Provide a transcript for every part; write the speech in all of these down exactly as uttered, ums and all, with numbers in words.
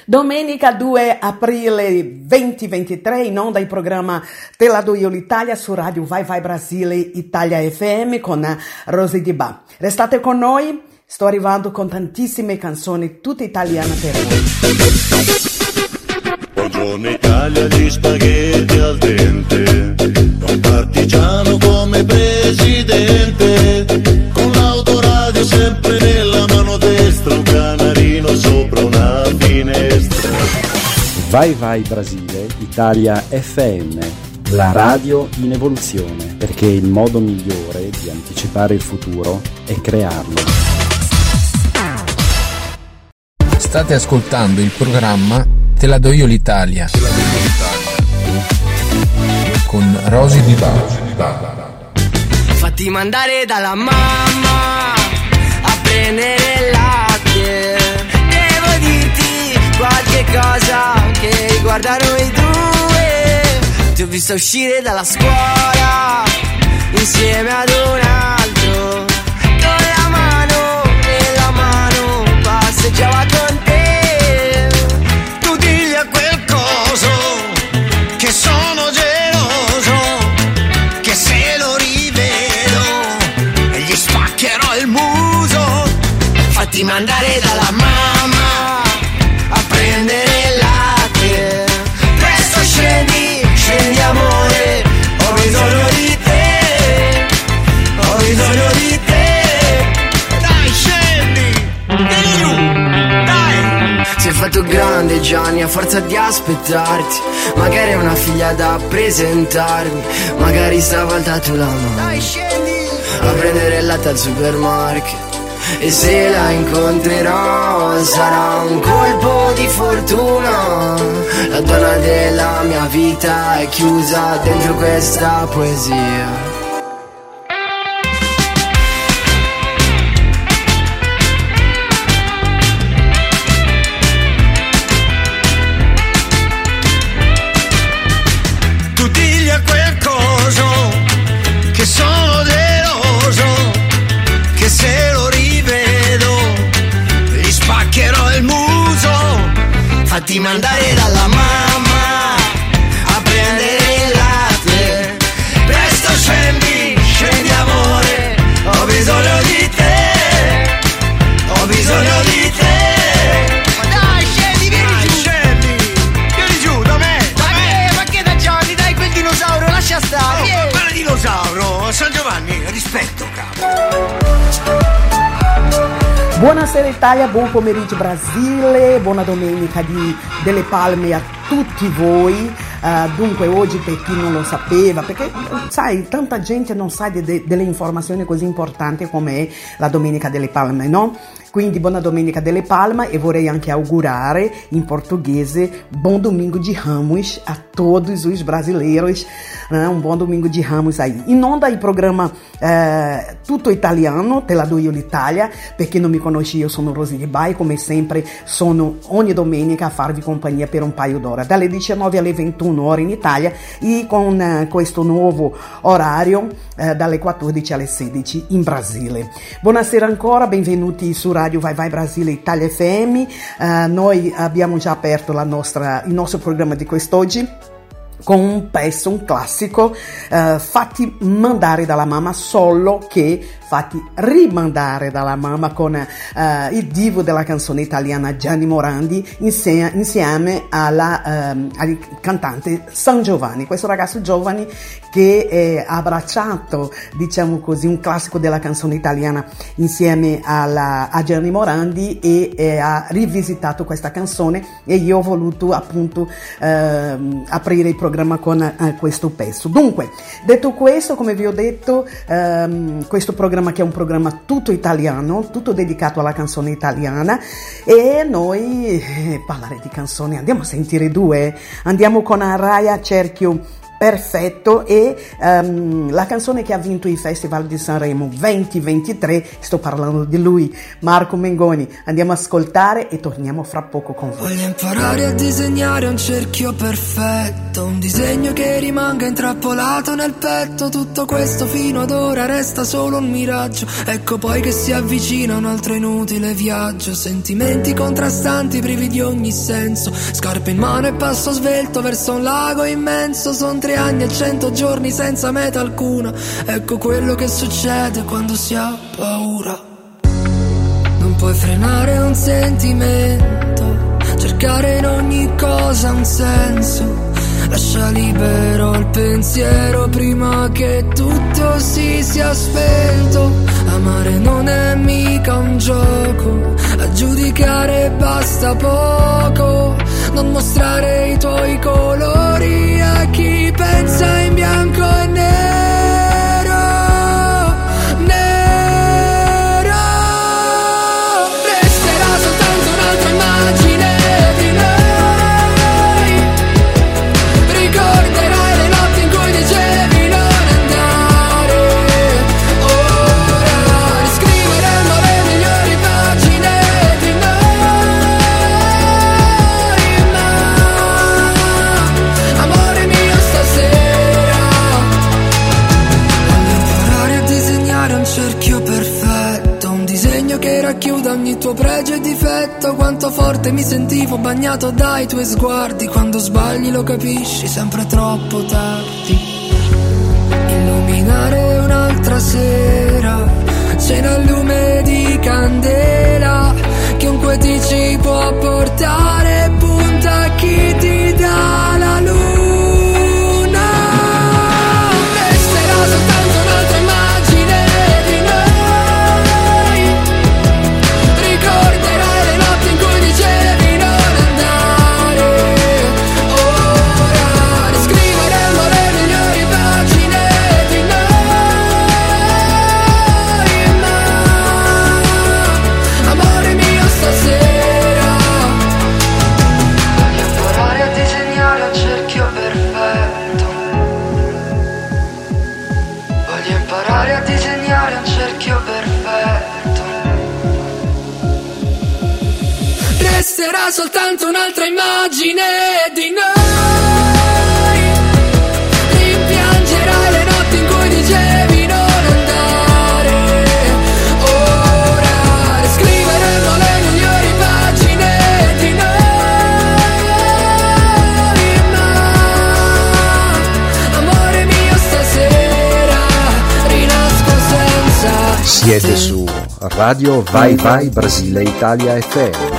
Domenica due aprile duemilaventitré, in onda il programma Te la do io l'Italia su Radio Vai Vai Brasile Italia F M con Rosy Di Ba. Restate con noi, sto arrivando con tantissime canzoni, tutte italiane per voi. Buongiorno Italia, gli spaghetti al dente, un partigiano come presidente, con l'autoradio sempre nella mano destra, un canarino sopra una finestra. Vai Vai Brasile Italia F M, la radio in evoluzione, perché il modo migliore di anticipare il futuro è crearlo. State ascoltando il programma Te la do io l'Italia con Rosy Di Ba. Fatti mandare dalla mamma a prendere il latte. Devo dirti qualche cosa che riguarda noi due. Ti ho visto uscire dalla scuola insieme ad un altro, con la mano nella mano passeggiava con te. Che sono geloso, che se lo rivedo gli spaccherò il muso. Fatti mandare dalla mamma a prendere il latte. Presto scendi, scendi amore, ho bisogno di te, ho bisogno di te. Dai scendi, vieni giù, dai. Sei fatto grande Gianni a forza di aspettarti. Magari è una figlia da presentarmi, magari stavolta tu la mandi a prendere il latte al supermarket. E se la incontrerò sarà un colpo di fortuna. La donna della mia vita è chiusa dentro questa poesia. Che sono geloso, che se lo rivedo gli spaccherò il muso. Fatti mandare dalla mamma a prendere il latte. Presto scendi, scendi amore, ho bisogno di te, ho bisogno di te. Ma dai scendi, vieni dai, giù, scendi, vieni giù, da me, da ma me. Che, ma che da Gianni, dai quel dinosauro, lascia stare. Oh, quel dinosauro, San Giovanni, rispetto capo. Buonasera Italia, buon pomeriggio Brasile, buona domenica di, delle Palme a tutti voi. Uh, dunque oggi, per chi non lo sapeva, perché sai, tanta gente non sa de, de, delle informazioni così importanti come la Domenica delle Palme, no? Quindi buona Domenica delle Palme, e vorrei anche augurare in portoghese buon domingo de Ramos a todos os brasileiros, né? Um buon domingo de Ramos aí. In onda il programma eh, tutto italiano, Te la do io l'Italia. Per chi non mi conosce, io sono Rosy Di Ba e come sempre sono ogni domenica a farvi compagnia per un paio d'ore, dalle diciannove alle ventuno ore in Italia, e con eh, questo nuovo orario eh, dalle quattordici alle sedici in Brasile. Buonasera ancora, benvenuti su Radio Vai Vai Brasile Italia F M. Uh, noi abbiamo già aperto la nostra, il nostro programma di quest'oggi con un pezzo, un classico, uh, fatti mandare dalla mamma, solo che fatti rimandare dalla mamma, con uh, il divo della canzone italiana Gianni Morandi insieme, insieme alla, um, al cantante San Giovanni, questo ragazzo giovane che ha abbracciato, diciamo così, un classico della canzone italiana insieme alla, a Gianni Morandi, e eh, ha rivisitato questa canzone, e io ho voluto appunto eh, aprire il programma con eh, questo pezzo. Dunque, detto questo, come vi ho detto, ehm, questo programma che è un programma tutto italiano, tutto dedicato alla canzone italiana, e noi eh, parlare di canzoni, andiamo a sentire due, andiamo con Araya Cerchio perfetto, e um, la canzone che ha vinto il Festival di Sanremo venti ventitré, sto parlando di lui, Marco Mengoni. Andiamo a ascoltare e torniamo fra poco con voi. Voglio imparare a disegnare un cerchio perfetto, un disegno che rimanga intrappolato nel petto. Tutto questo fino ad ora resta solo un miraggio, ecco poi che si avvicina un altro inutile viaggio. Sentimenti contrastanti privi di ogni senso, scarpe in mano e passo svelto verso un lago immenso. Son tre anni e cento giorni senza meta alcuna, ecco quello che succede quando si ha paura. Non puoi frenare un sentimento, cercare in ogni cosa un senso. Lascia libero il pensiero prima che tutto si sia spento. Amare non è mica un gioco, a giudicare basta poco. Non mostrare i tuoi colori a chi pensa in bianco e nero, nero. Resterà soltanto un'altra immagine di noi. Ricorderai le notti in cui dicevi non andare. Ora riscriveremo le migliori pagine di noi. Ma amore mio stasera voglio imparare a disegnare un cerchio perfetto, un disegno che racchiuda ogni tuo pregio e difetto. Quanto forte mi sentivo bagnato dai tuoi sguardi, quando sbagli lo capisci sempre troppo tardi. Illuminare un'altra sera, cena al lume di candela, chiunque ti ci può portare, punta a chi ti dà la luna. Resterà soltanto un'altra immagine di noi. Ricorderai le notti in cui dicevi non andare. Ora riscriveremo le migliori pagine di noi. Ma amore mio stasera voglio imparare a disegnare un cerchio perfetto. Voglio imparare a disegnare un cerchio perfetto. Resterà soltanto un'altra immagine di noi. Rimpiangerai le notti in cui dicevi non andare. Ora riscriveremo le migliori pagine di noi. Ma amore mio stasera rinasco senza. Siete su Radio Vai Vai Brasile Italia F M.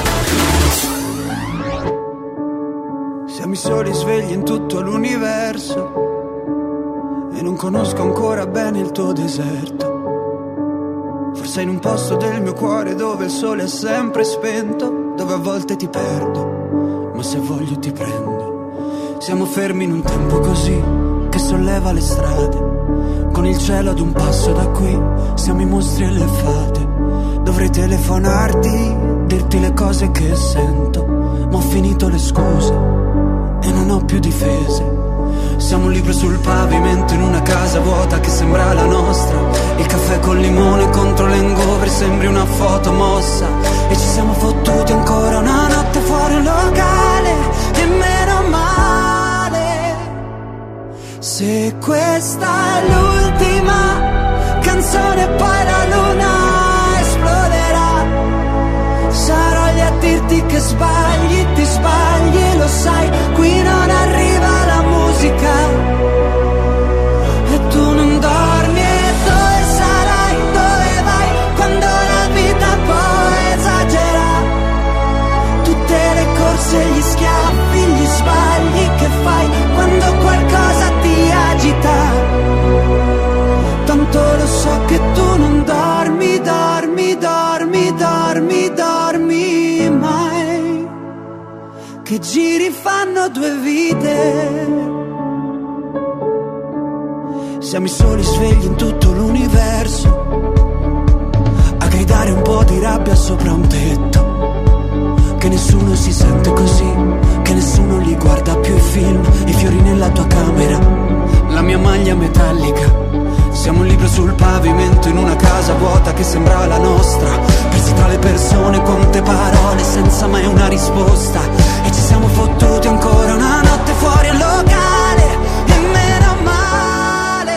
Siamo i soli svegli in tutto l'universo e non conosco ancora bene il tuo deserto. Forse in un posto del mio cuore dove il sole è sempre spento, dove a volte ti perdo, ma se voglio ti prendo. Siamo fermi in un tempo così che solleva le strade, con il cielo ad un passo da qui, siamo i mostri e le fate. Dovrei telefonarti, dirti le cose che sento, ma ho finito le scuse e non ho più difese. Siamo un libro sul pavimento in una casa vuota che sembra la nostra. Il caffè col limone contro l'hangover sembri una foto mossa. E ci siamo fottuti ancora una notte fuori un locale, e meno male. Se questa è l'ultima canzone poi la luna esploderà, sarò lì a dirti che sbagli, ti sbagli, lo sai, qui non arriva la musica e tu non dormi. E dove sarai, dove vai, quando la vita poi esagera, tutte le corse, gli schiaffi, gli sbagli che fai quando qualcosa ti agita. Tanto lo so che tu non dormi, dormi, dormi, dormi, dormi mai, che giri fanno due vite. Siamo i soli svegli in tutto l'universo, a gridare un po' di rabbia sopra un tetto, che che nessuno si sente così, che nessuno li guarda più i film, i fiori nella tua camera, la mia maglia metallica. Siamo un libro sul pavimento in una casa vuota che sembrava la nostra, persi tra le persone, quante parole senza mai una risposta. E ci siamo fottuti ancora una notte fuori al locale, e meno male.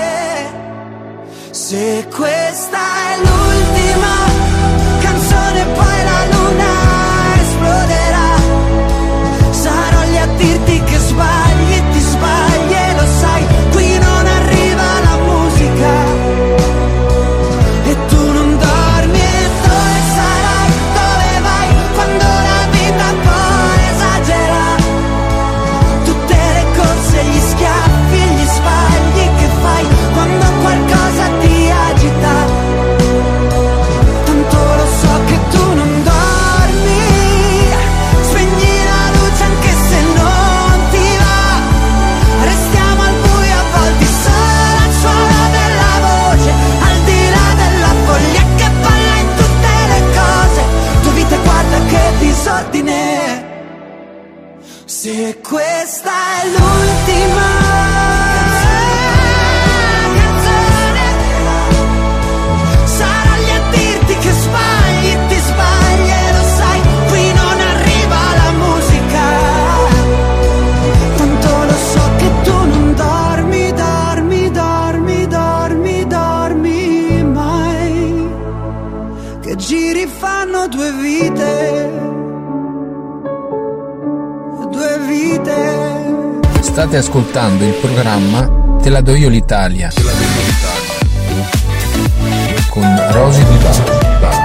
Se questa è l'ultima canzone poi la luna esploderà, sarò lì a dirti che sbagli, ti sbagli e lo sai, qui non arriva la musica e tu non dormi. E dove sarai, dove vai, quando la vita poi esagera, tutte le corse, gli schiaffi, gli sbagli che fai quando qualcosa ti agita. Tanto lo so che tu non dormi, spegni la luce anche se non ti va, restiamo al buio avvolti solo al suono della voce, al di là della foglia che balla in tutte le cose, tua vita guarda che disordine. Se questa è l'ultima canzone, sarò lì a dirti che sbagli, ti sbagli e lo sai, qui non arriva la musica. Tanto lo so che tu non dormi, dormi, dormi, dormi, dormi mai, che giri fanno due vite, due vite. State ascoltando il programma Te la do io l'Italia con Rosy Di Bari.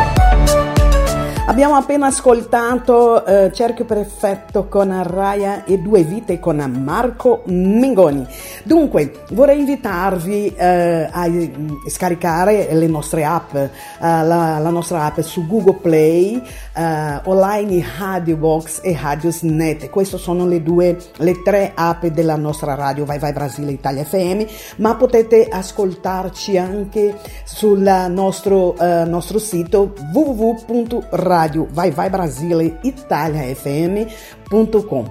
Abbiamo appena ascoltato eh, Cerchio Perfetto con Arraya e Due Vite con Marco Mengoni. Dunque, vorrei invitarvi eh, a scaricare le nostre app, eh, la, la nostra app su Google Play, eh, online Radio Box e Radios Net. Queste sono le due, le tre app della nostra radio Vai Vai Brasile Italia F M, ma potete ascoltarci anche sul nostro, eh, nostro sito w w w punto radio vai vai brasile italia f m punto com.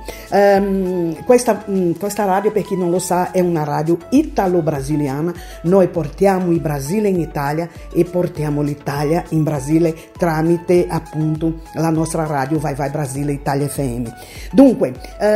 Um, questa, um, questa radio, per chi non lo sa, è una radio italo-brasiliana. Noi portiamo il Brasile in Italia e portiamo l'Italia in Brasile tramite appunto la nostra radio Vai Vai Brasile Italia F M. Dunque,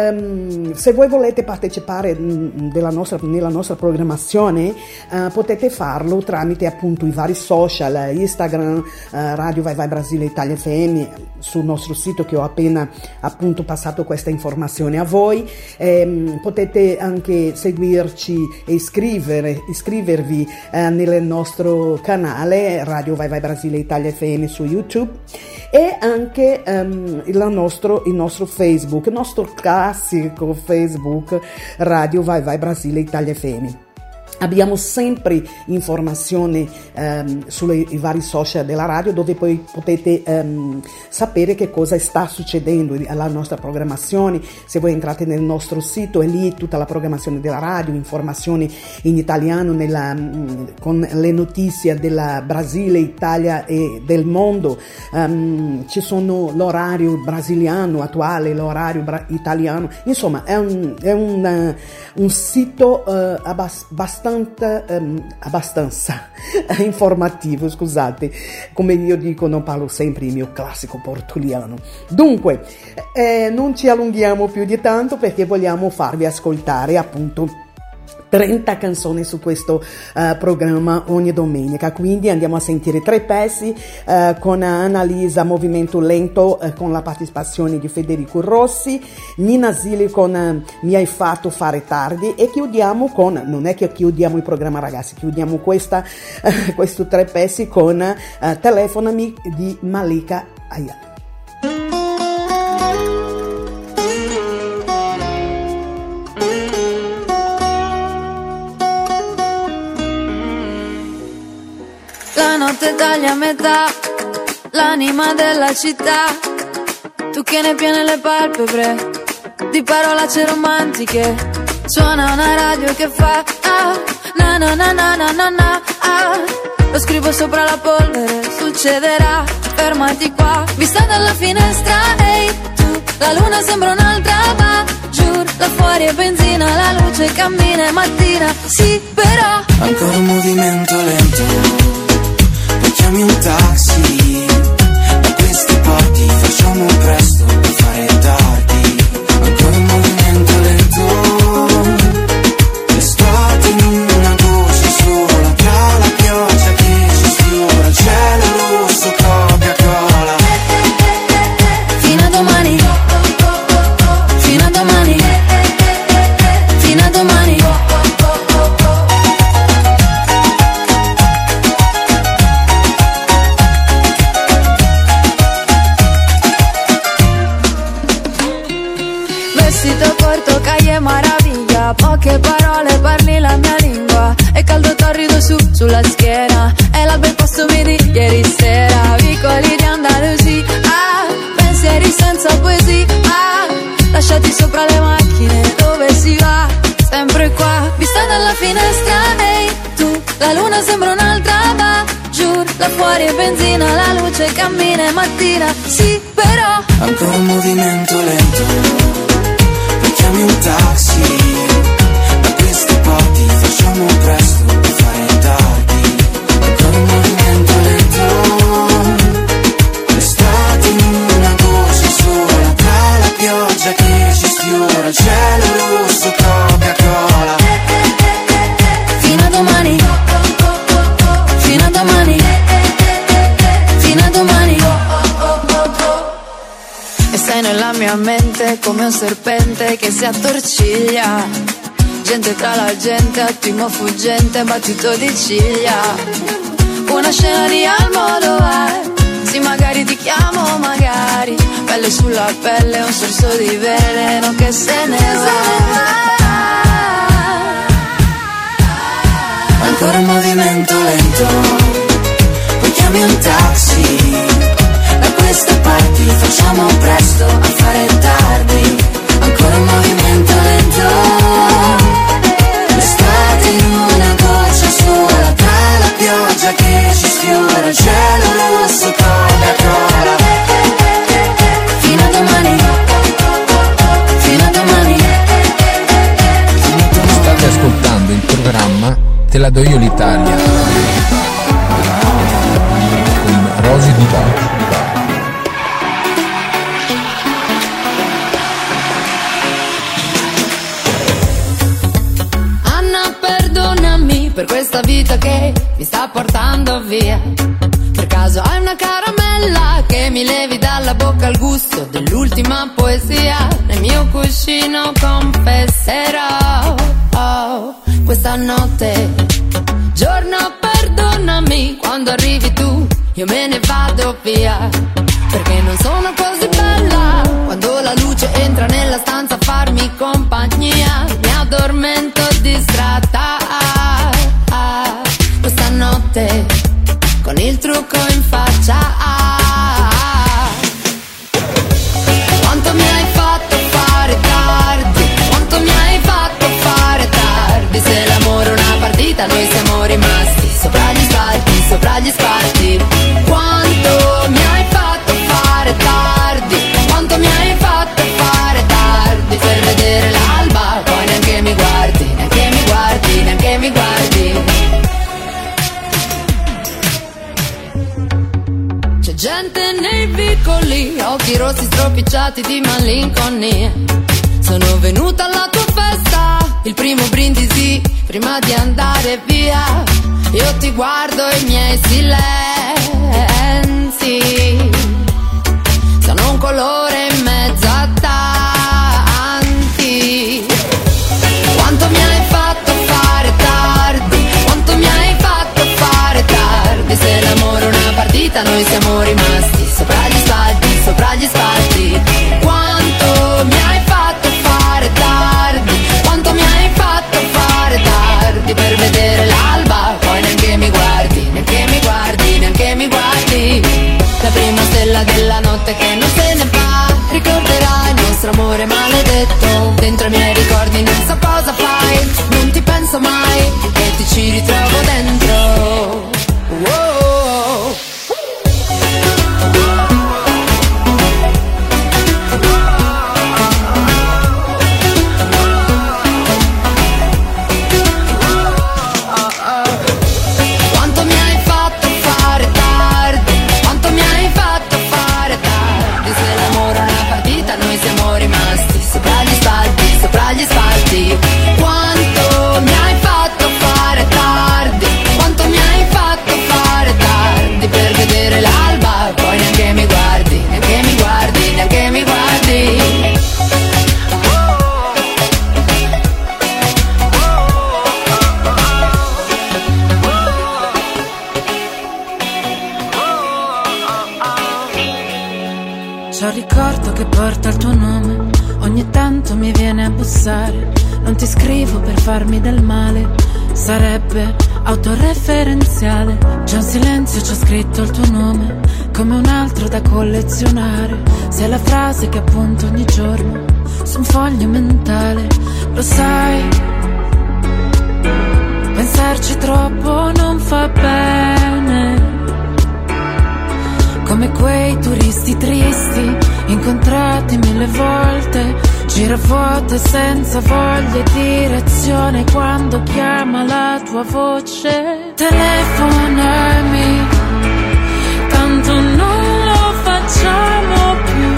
um, se voi volete partecipare um, della nostra, nella nostra programmazione, uh, potete farlo tramite appunto i vari social, Instagram, uh, Radio Vai Vai Brasile Italia F M, sul nostro sito che ho appena appunto passato questa informazione a voi. Eh, potete anche seguirci e iscrivere, iscrivervi eh, nel nostro canale Radio Vai Vai Brasile Italia F M su YouTube, e anche um, il, nostro, il nostro Facebook, il nostro classico Facebook Radio Vai Vai Brasile Italia F M. Abbiamo sempre informazioni um, sui vari social della radio, dove poi potete um, sapere che cosa sta succedendo alla nostra programmazione. Se voi entrate nel nostro sito, è lì tutta la programmazione della radio, informazioni in italiano nella, con le notizie della Brasile, Italia e del mondo. Um, ci sono l'orario brasiliano attuale, l'orario bra- italiano. Insomma, è un, è un, uh, un sito uh, abbastanza Um, abbastanza informativo, scusate, come io dico, non parlo sempre il mio classico portuliano. Dunque, eh, non ci allunghiamo più di tanto, perché vogliamo farvi ascoltare appunto trenta canzoni su questo uh, programma ogni domenica. Quindi andiamo a sentire tre pezzi uh, con Annalisa Movimento Lento, uh, con la partecipazione di Federico Rossi, Nina Zilli con uh, Mi hai fatto fare tardi, e chiudiamo con, non è che chiudiamo il programma ragazzi, chiudiamo questa, uh, questi tre pezzi con uh, Telefonami di Malika Ayala. La notte taglia a metà l'anima della città, tu che ne piene le palpebre di parolacce romantiche. Suona una radio che fa ah, na na na na na na na ah. Lo scrivo sopra la polvere, succederà, fermati qua. Vista dalla finestra, ehi, hey, tu La luna sembra un'altra, ma giuro, là fuori è benzina, la luce cammina e mattina. Sì, però ancora un movimento lento, poi chiami un taxi. Da questi porti facciamo presto per fare tardi. Ancora un movimento lento, l'estate in una goccia sola, tra la pioggia che ci sfiora, il cielo rosso, Coca-Cola. Fino a domani, fino a domani, fino a domani. Vestito corto, caglie maraviglia, poche parole, parli la mia lingua. E caldo torrido su, sulla schiena, è l'alba il posto midi ieri sera. Vicoli di Andalusia, ah, pensieri senza poesia, ah, lasciati sopra le macchine, dove si va? Sempre qua, vista dalla finestra, ehi, hey, tu, la luna sembra un'altra, ma giuro, là fuori è benzina, la luce cammina e mattina. Sì, però ancora un movimento lento, poi chiami un taxi. Da questi porti facciamo presto per fare tardi. Ancora un movimento lento, l'estate in una goccia sola, tra la pioggia che ci sfiora, il cielo rosso, Coca-Cola. Fino a domani, fino a domani, fino a domani. E sei nella mia mente come un serpente che si attorciglia. Gente tra la gente, attimo fuggente, battito di ciglia. Una scena di Almodovar, sì magari ti chiamo, magari. Pelle sulla pelle, un sorso di veleno che se ne va. Ancora un movimento lento, poi chiami un taxi. Da queste parti facciamo presto a fare tardi. Ancora un movimento lento, l'estate in una goccia sola, tra la pioggia che ci sfiora, il cielo rosso, Coca-Cola. Fino a domani, fino a domani. State ascoltando il programma Te la do io l'Italia con Rosy Di Bari. Per questa vita che mi sta portando via. Per caso hai una caramella che mi levi dalla bocca il gusto dell'ultima poesia. Nel mio cuscino confesserò, oh, questa notte, giorno perdonami, quando arrivi tu io me ne vado via. Perché non sono così bella quando la luce entra nella stanza a farmi compagnia. Mi addormento distratta questa notte con il trucco in faccia. Quanto mi hai fatto fare tardi, quanto mi hai fatto fare tardi. Se l'amore è una partita noi siamo rimasti sopra gli spalti, sopra gli spalti. Quanto mi hai fatto fare tardi, quanto mi hai fatto fare tardi. Per vedere l'alba poi neanche mi guardi, neanche mi guardi, neanche mi guardi. C'è gente nei vicoli, occhi rossi stropicciati di malinconia. Sono venuta alla tua festa, il primo brindisi prima di andare via. Io ti guardo e i miei silenzi sono un colore in mezzo a tanti. Quanto mi hai fatto fare tardi, quanto mi hai fatto fare tardi. Se l'amore è una partita noi siamo rimasti sopra gli spalti, sopra gli spalti. Quanto mi hai fatto fare tardi, quanto mi hai fatto fare tardi. Per vedere l'alba poi neanche mi guardi, neanche mi guardi, neanche mi guardi. La prima stella della notte che non se ne va, ricorderai il nostro amore maledetto. Dentro i miei ricordi non so cosa fai, non ti penso mai e ti ci ritrovo dentro. Wow. bussare, non ti scrivo per farmi del male, sarebbe autoreferenziale. C'è un silenzio, c'è scritto il tuo nome, come un altro da collezionare. Sei la frase che appunto ogni giorno su un foglio mentale. Lo sai, pensarci troppo non fa bene, come quei turisti tristi incontrati mille volte, giravuote senza voglia e direzione. Quando chiama la tua voce, telefonami, tanto non lo facciamo più.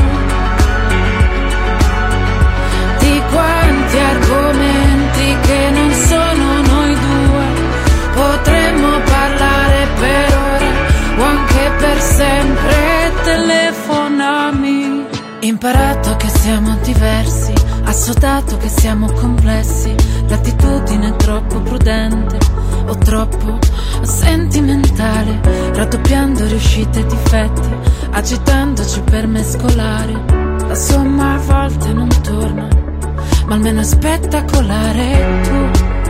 Di quanti argomenti che non sono noi due potremmo parlare per ore o anche per sempre. Telefonami. Imparato che siamo diversi, assodato che siamo complessi, l'attitudine è troppo prudente o troppo sentimentale, raddoppiando riuscite e difetti, agitandoci per mescolare. La somma a volte non torna, ma almeno è spettacolare. Tu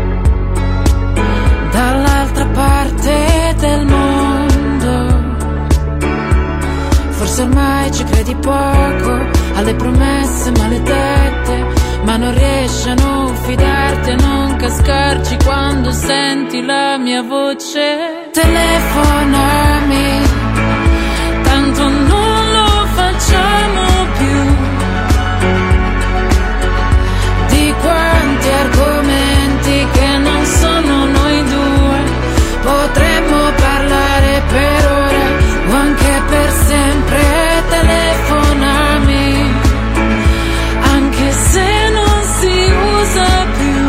dall'altra parte del mondo, forse ormai ci credi poco alle promesse maledette, ma non riesci a non fidarti, a non cascarci quando senti la mia voce. Telefonami, tanto non lo facciamo più. Di quanti argomenti che non sono noi due potremmo parlare per ore o anche per sempre. Telefonami, anche se non si usa più.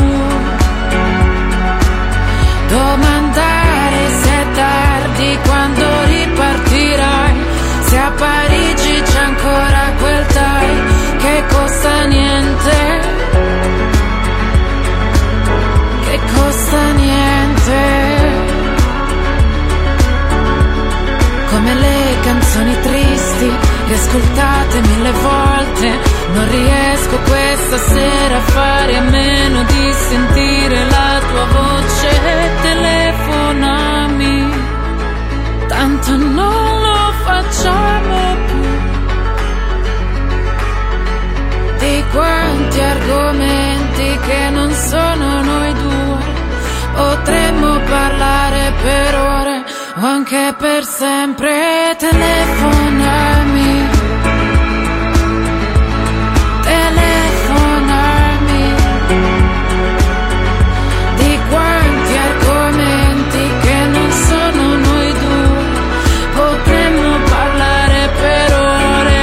Domandare se è tardi, quando ripartirai, se a Parigi c'è ancora quel tai che costa niente, che costa niente. Come le canzoni tristi, riascoltate mille volte, non riesco questa sera a fare a meno di sentire la tua voce. Telefonami, tanto non lo facciamo più. Di quanti argomenti che non sono noi due potremmo parlare per ore o anche per sempre. Telefonami, telefonami. Di quanti argomenti che non sono noi due potremmo parlare per ore.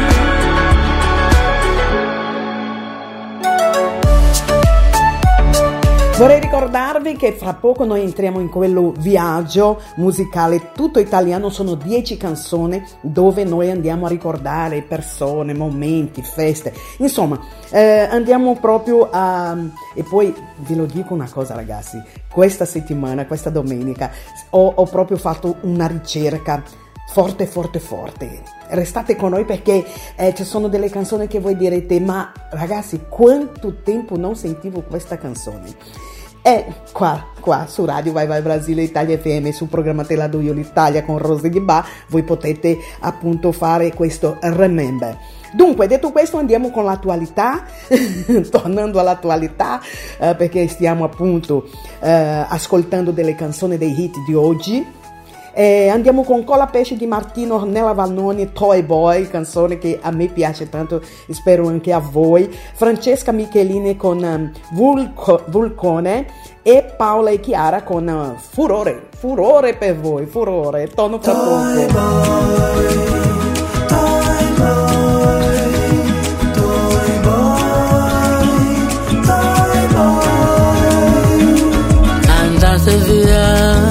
Vorrei ricordarvi che fra poco noi entriamo in quello viaggio musicale tutto italiano, sono dieci canzoni dove noi andiamo a ricordare persone, momenti, feste, insomma eh, andiamo proprio a... E poi ve lo dico una cosa ragazzi, questa settimana, questa domenica ho, ho proprio fatto una ricerca forte forte forte. Restate con noi perché eh, ci sono delle canzoni che voi direte ma ragazzi quanto tempo non sentivo questa canzone. E qua, qua su Radio Vai Vai Brasile Italia F M, sul programma Te la do io l'Italia con Rose Di Ba, voi potete appunto fare questo remember. Dunque, detto questo, andiamo con l'attualità, tornando all'attualità, eh, perché stiamo appunto eh, ascoltando delle canzoni dei hit di oggi. Eh, andiamo con Colapesce di Martino, Ornella Vanoni, Toy Boy, canzone che a me piace tanto e spero anche a voi. Francesca Michelini con um, Vulco, Vulcone e Paola e Chiara con uh, Furore, Furore per voi, Furore, torno fra poco. Toy Boy, Toy Boy, Toy Boy, Toy Boy. Andate via,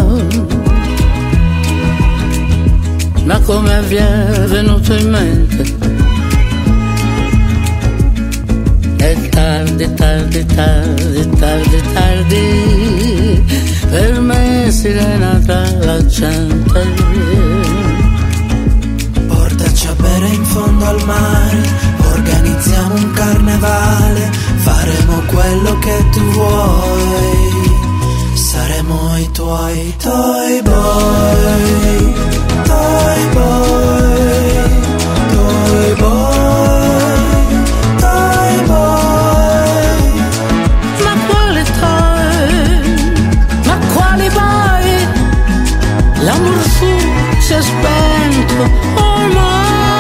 ma come vi è venuto in mente? È tardi, tardi, tardi, tardi, tardi, per me sirena tra la gente. Portaci a bere in fondo al mare, organizziamo un carnevale, faremo tuoi toy boy, toy boy, toy boy, toy boy. Ma quale toy? Ma quali boy? L'amor su si è spento ormai.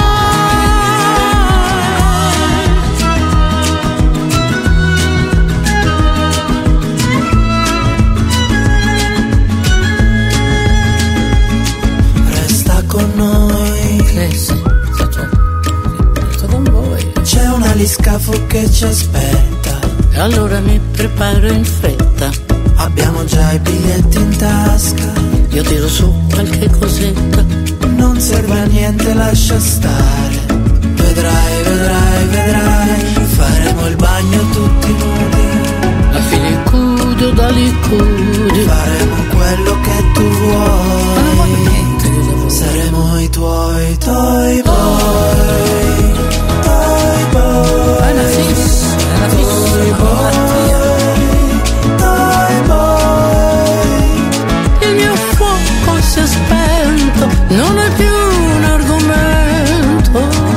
C'è un aliscafo che ci aspetta, e allora mi preparo in fretta. Abbiamo già i biglietti in tasca, io tiro su qualche cosetta. non serve a niente, lascia stare. Vedrai, vedrai, vedrai, faremo il bagno tutti nudi. A filicudo da licudi faremo quello che tu vuoi. Saremo i tuoi toy boy, toy boy. È una fissa, è una fissa, toy boy, toy boy. il mio fuoco si è spento, non è più un argomento.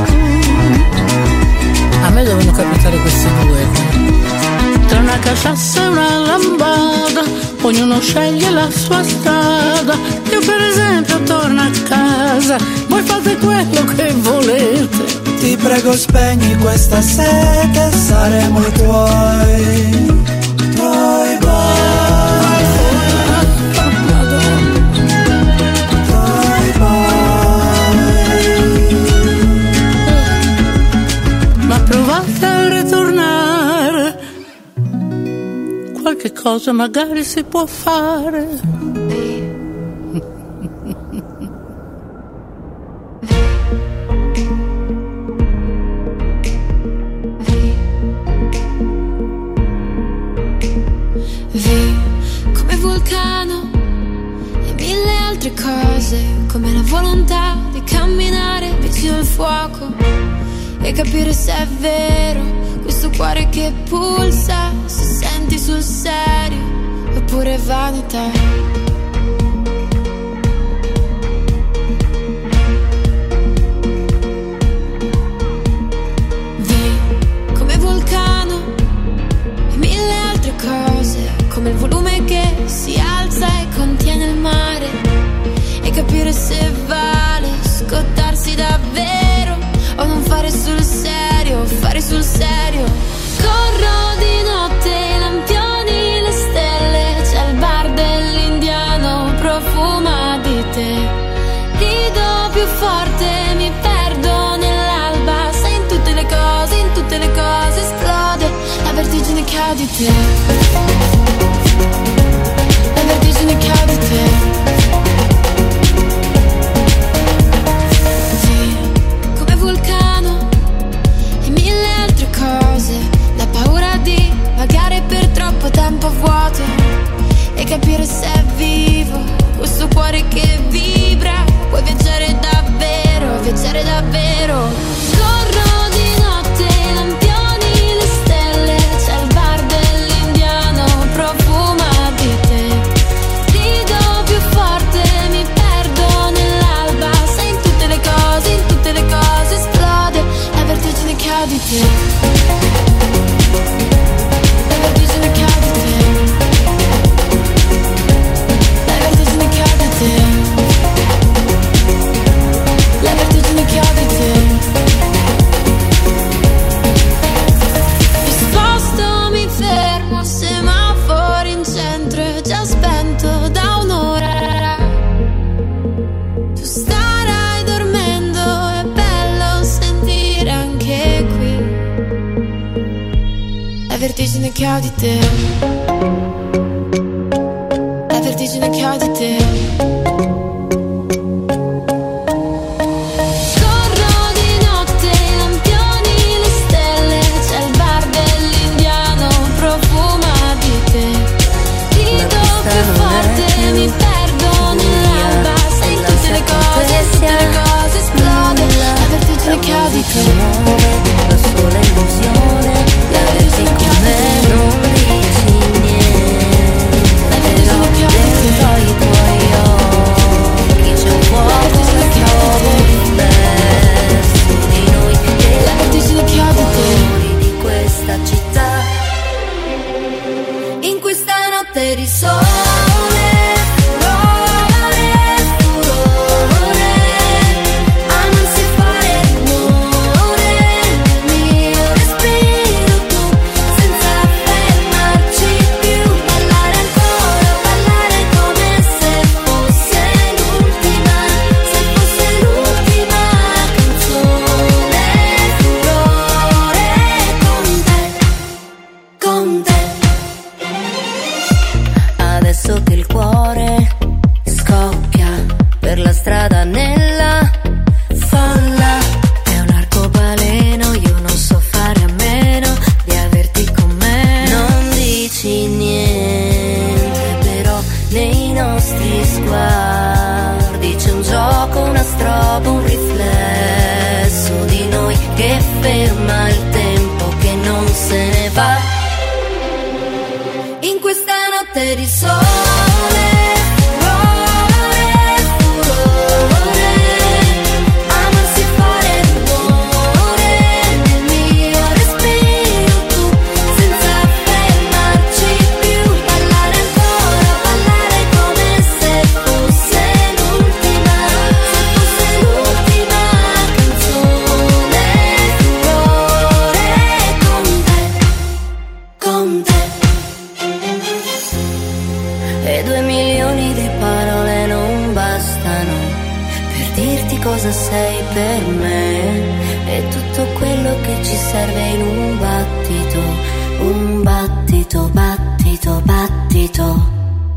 A me devono capitare questi due, tra una caciassa e una lambada, ognuno sceglie la sua strada. Io per esempio torno a casa, voi fate quello che volete. Ti prego spegni questa sete, saremo i tuoi toy boy, toy boy. Ma provate a ritornare, qualche cosa magari si può fare. Come vulcano e mille altre cose, come la volontà di camminare vicino al fuoco e capire se è vero questo cuore che pulsa, se senti sul serio oppure vanità. Come il volume che si alza e contiene il mare, e capire se vale scottarsi davvero o non fare sul serio, fare sul serio. Corro di notte, lampioni, le stelle, c'è il bar dell'indiano, profuma di te. Rido più forte, mi perdo nell'alba, sai in tutte le cose, in tutte le cose esplode la vertigine che ha di te. La vertigine che ha di te. Sì, come vulcano e mille altre cose, la paura di vagare per troppo tempo a vuoto e capire se è vivo questo cuore che vibra. Puoi viaggiare davvero, viaggiare davvero. Corro di notte, lampioni, le stelle, c'è il bar dell'indiano, profuma di te. Rido più forte, mi perdo nell'alba, sai in tutte le cose, in tutte le cose esplode la vertigine che ha di te. La vertigine che ha di te. La vertigine che ha di te. La vertigine che ha di te. Mi sposto, mi fermo, semaforo in centro, è già spento da un'ora. Tu starai dormendo, è bello sentire anche qui la vertigine che ha di te. La vertigine che ha di te. Corro di notte, lampioni, le stelle, c'è il bar dell'indiano, profuma di te. Rido più forte, mi perdo nell'alba, sai in tutte le cose, in tutte le cose esplode la vertigine che ha di te. La sola illusione La vertigine che ha di te. non dici niente. La vertigine che ha di te. notte di sole, furore, furore, amarsi e fare rumore nel mio respiro, tu senza fermarci più, ballare ancora, ballare come se fosse l'ultima, se fosse l'ultima canzone, furore con te, con te. Adesso che il cuore scoppia per la strada nella folla, è un arcobaleno, io non so fare a meno di averti con me. Non dici niente, però nei nostri sguardi c'è un gioco, una strobo, un riflesso di noi che ferma il tempo, che non se ne va. In questa notte di sole, furore, furore, amarsi e fare rumore nel mio respiro, tu senza fermarci più, ballare ancora, ballare come se fosse l'ultima, se fosse l'ultima canzone, furore con te, con te. E due milioni di parole non bastano per dirti cosa sei per me, e tutto quello che ci serve in un battito, un battito, battito, battito.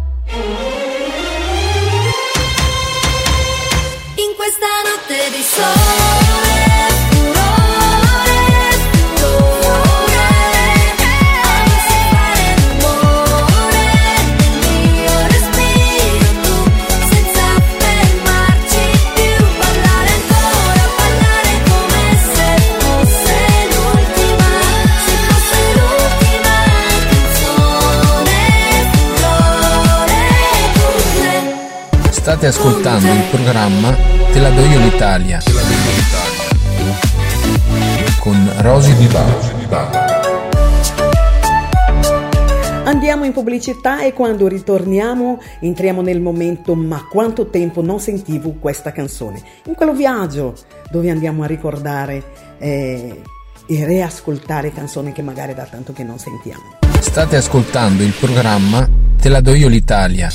In questa notte di sole, furore, furore, amarsi e fare rumore nel mio respiro, tu senza fermarci più, ballare ancora, ballare come se fosse l'ultima, se fosse l'ultima canzone, furore con te. State ascoltando il programma Te la do io l'Italia con Rosy Di Bari. Andiamo in pubblicità e quando ritorniamo entriamo nel momento "ma quanto tempo non sentivo questa canzone", in quello viaggio dove andiamo a ricordare eh, e riascoltare canzoni che magari da tanto che non sentiamo. State ascoltando il programma Te la do io l'Italia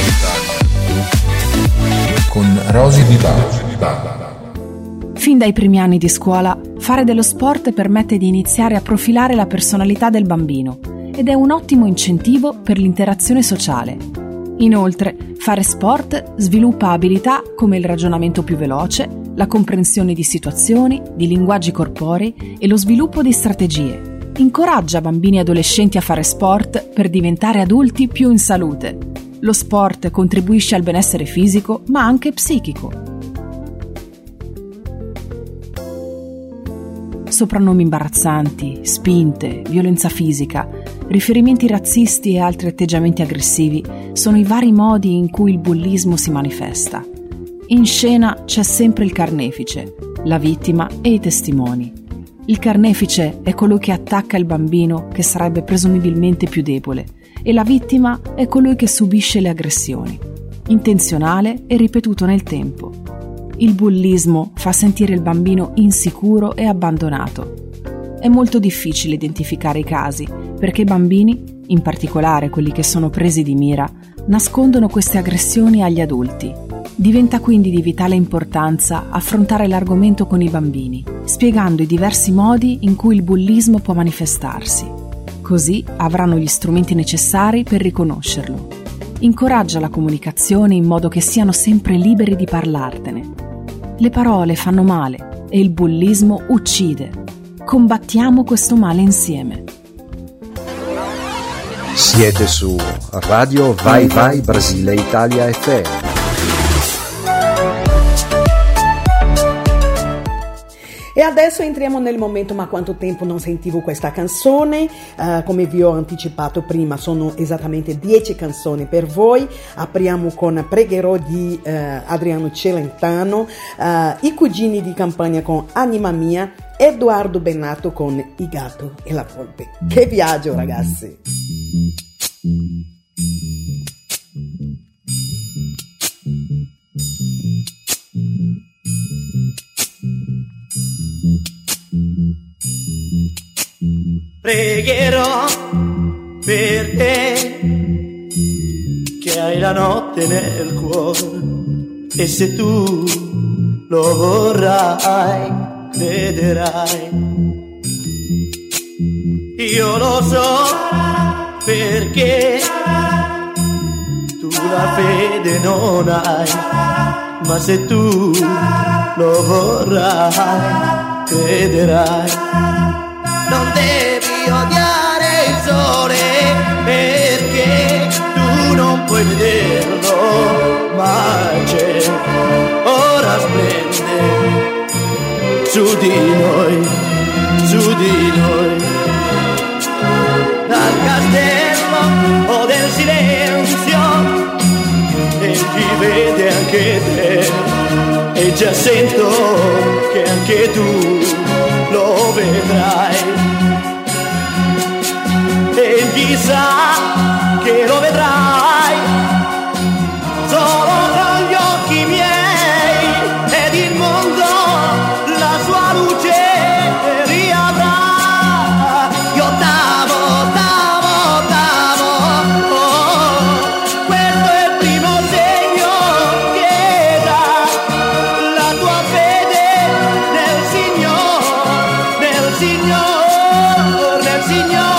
con Rosy Di Bari. Fin dai primi anni di scuola, fare dello sport permette di iniziare a profilare la personalità del bambino ed è un ottimo incentivo per l'interazione sociale. Inoltre, fare sport sviluppa abilità come il ragionamento più veloce, la comprensione di situazioni, di linguaggi corporei e lo sviluppo di strategie. Incoraggia bambini e adolescenti a fare sport per diventare adulti più in salute. Lo sport contribuisce al benessere fisico, ma anche psichico. Soprannomi imbarazzanti, spinte, violenza fisica, riferimenti razzisti e altri atteggiamenti aggressivi sono i vari modi in cui il bullismo si manifesta. In scena c'è sempre il carnefice, la vittima e i testimoni. Il carnefice è colui che attacca il bambino che sarebbe presumibilmente più debole e la vittima è colui che subisce le aggressioni, intenzionale e ripetuto nel tempo. Il bullismo fa sentire il bambino insicuro e abbandonato. È molto difficile identificare i casi perché i bambini, in particolare quelli che sono presi di mira, nascondono queste aggressioni agli adulti. Diventa quindi di vitale importanza affrontare l'argomento con i bambini, spiegando i diversi modi in cui il bullismo può manifestarsi. Così avranno gli strumenti necessari per riconoscerlo. Incoraggia la comunicazione in modo che siano sempre liberi di parlartene. Le parole fanno male e il bullismo uccide. Combattiamo questo male insieme. Siete su Radio Vai Vai Brasile Italia F M. E adesso entriamo nel momento "ma quanto tempo non sentivo questa canzone". Uh, come vi ho anticipato prima, sono esattamente dieci canzoni per voi. Apriamo con "Pregherò" di uh, Adriano Celentano, uh, "I cugini di campagna" con "Anima mia", Edoardo Bennato con "I gatto e la volpe". Che viaggio, ragazzi! Pregherò per te, che hai la notte nel cuore, e se tu lo vorrai, vedrai. Io lo so perché tu la fede non hai, ma se tu lo vorrai, crederai. Non devi odiare il sole perché tu non puoi vederlo, ma c'è, ora splende su di noi, su di noi. Dal castello o del silenzio, egli vede anche te, e già sento che anche tu lo vedrai. Egli sa che lo vedrai solo con gli occhi miei, ed il mondo la sua luce riavrà. Io t'amo, t'amo, t'amo, oh, questo è il primo segno che dà la tua fede nel Signore, nel Signore, nel Signore.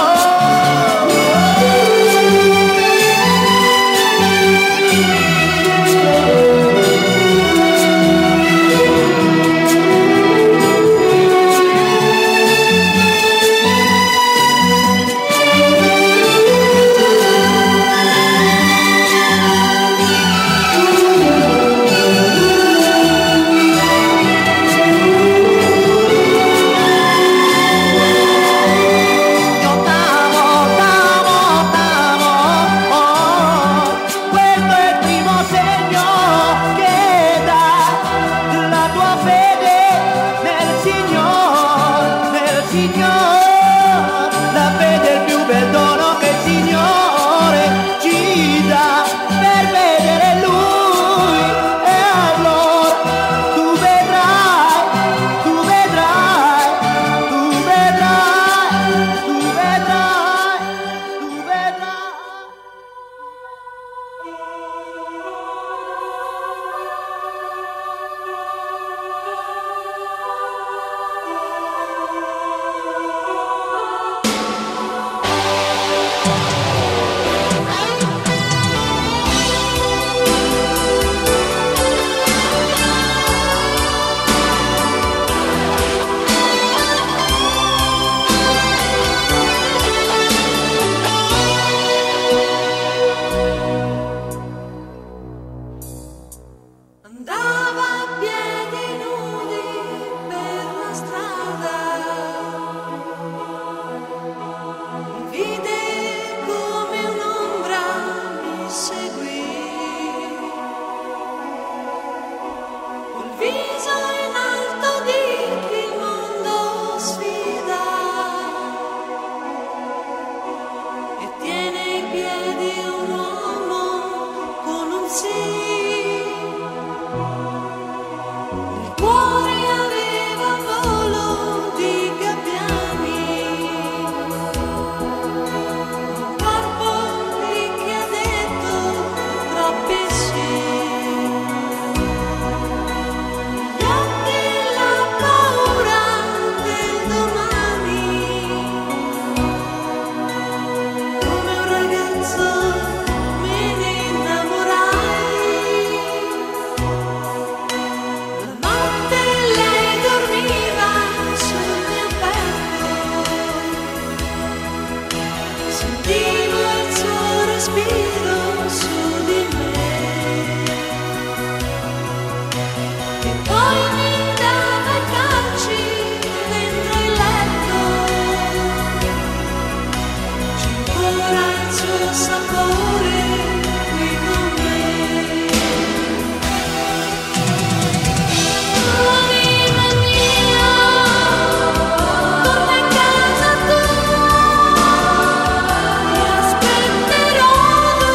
Aspetterò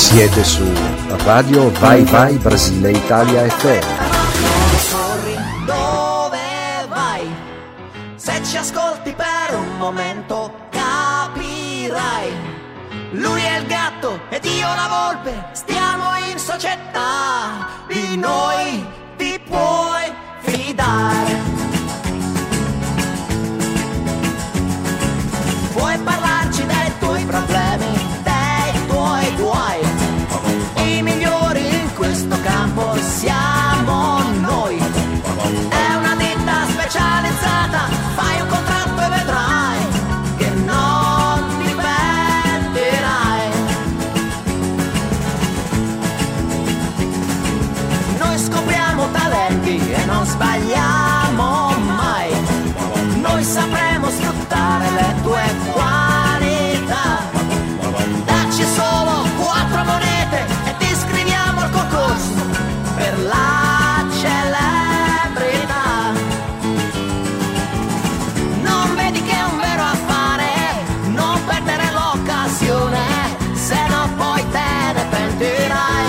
Siete su Radio Vai Vai Brasile Italia F M. Corri, dove vai? Se ci ascolti per un momento capirai. Lui è il gatto ed io la volpe, stiamo in società, di noi ti puoi fidare. Puoi parlarci dei tuoi problemi, dei tuoi guai. I migliori in questo campo siamo noi. È una ditta specializzata, fai un contratto e vedrai che non ti pentirai. Noi scopriamo talenti e non sbagliamo mai. Noi sapremo sfruttare le tue qualità. Dacci solo quattro monete e ti iscriviamo al concorso per la celebrità. Non vedi che è un vero affare, non perdere l'occasione, se no poi te ne pentirai.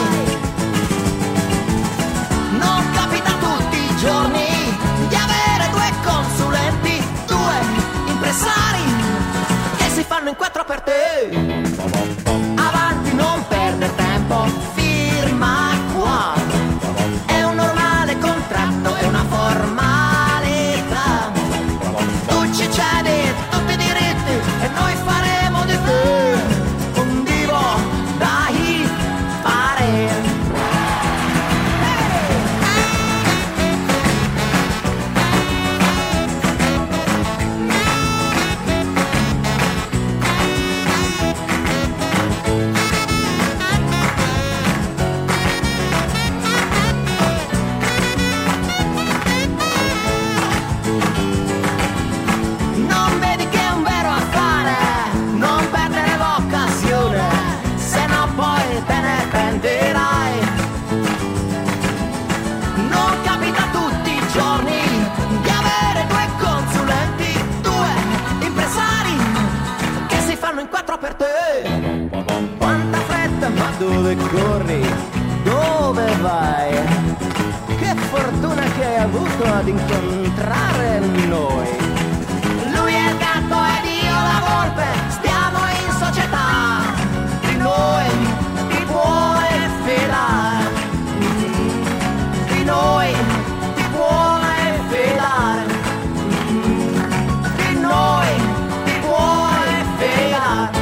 Non capita tutti i giorni di avere due consulenti, due impresari che si fanno in quattro per te. Avanti, non perdere tempo, firma qua. È un normale contratto, è una formalità. Tu ci cedi tutti i diritti e noi faremo di te un divo da fare. Non vedi che è un vero affare, non perdere l'occasione, se no poi te ne pentirai. Non capita tutti i giorni di avere due consulenti, due impresari che si fanno in quattro per te. Quanta fretta, ma dove corri? Dove vai? Che fortuna che hai avuto ad incontrare noi. Lui è il gatto ed io la volpe, stiamo in società, di noi ti puoi fidare. Di noi ti puoi fidare. Di noi ti puoi fidare.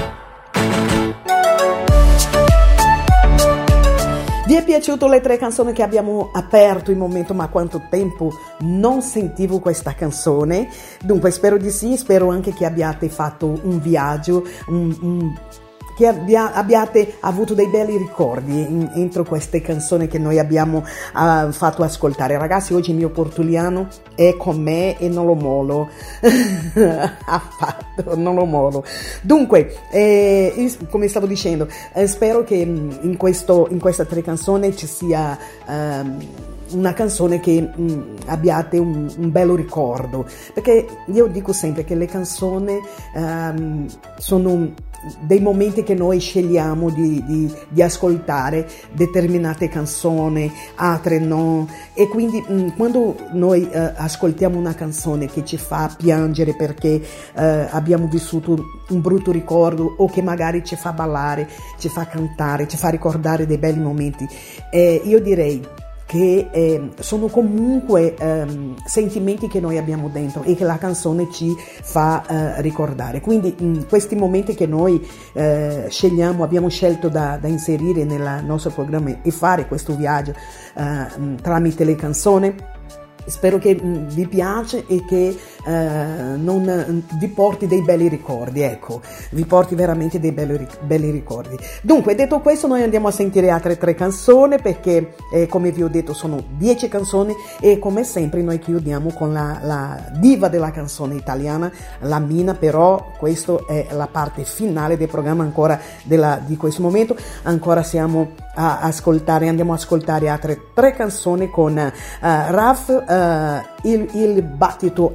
Vi è piaciuto le tre canzoni che abbiamo aperto il momento? Ma quanto tempo non sentivo questa canzone? Dunque spero di sì, spero anche che abbiate fatto un viaggio, un, un, che abbia, abbiate avuto dei belli ricordi in, entro queste canzoni che noi abbiamo uh, fatto ascoltare. Ragazzi, oggi il mio portuliano è con me e non lo molo affatto, non lo molo. Dunque eh, come stavo dicendo, eh, spero che in, questo, in questa tre canzoni ci sia um, una canzone che mh, abbiate un, un bello ricordo, perché io dico sempre che le canzoni um, sono dei momenti che noi scegliamo di, di, di ascoltare determinate canzoni, altre no, e quindi mh, quando noi uh, ascoltiamo una canzone che ci fa piangere perché uh, abbiamo vissuto un brutto ricordo, o che magari ci fa ballare, ci fa cantare, ci fa ricordare dei belli momenti, eh, io direi che eh, sono comunque ehm, sentimenti che noi abbiamo dentro e che la canzone ci fa eh, ricordare. Quindi in questi momenti che noi eh, scegliamo, abbiamo scelto da, da inserire nel nostro programma e fare questo viaggio eh, tramite le canzoni, spero che mh, vi piace e che eh, non mh, vi porti dei belli ricordi, ecco, vi porti veramente dei belli, belli ricordi. Dunque, detto questo, noi andiamo a sentire altre tre canzoni, perché eh, come vi ho detto sono dieci canzoni, e come sempre noi chiudiamo con la, la diva della canzone italiana, la Mina. Però questa è la parte finale del programma ancora della, di questo momento. Ancora siamo a ascoltare, andiamo a ascoltare altre tre canzoni con uh, Raf, uh, il, il battito animale.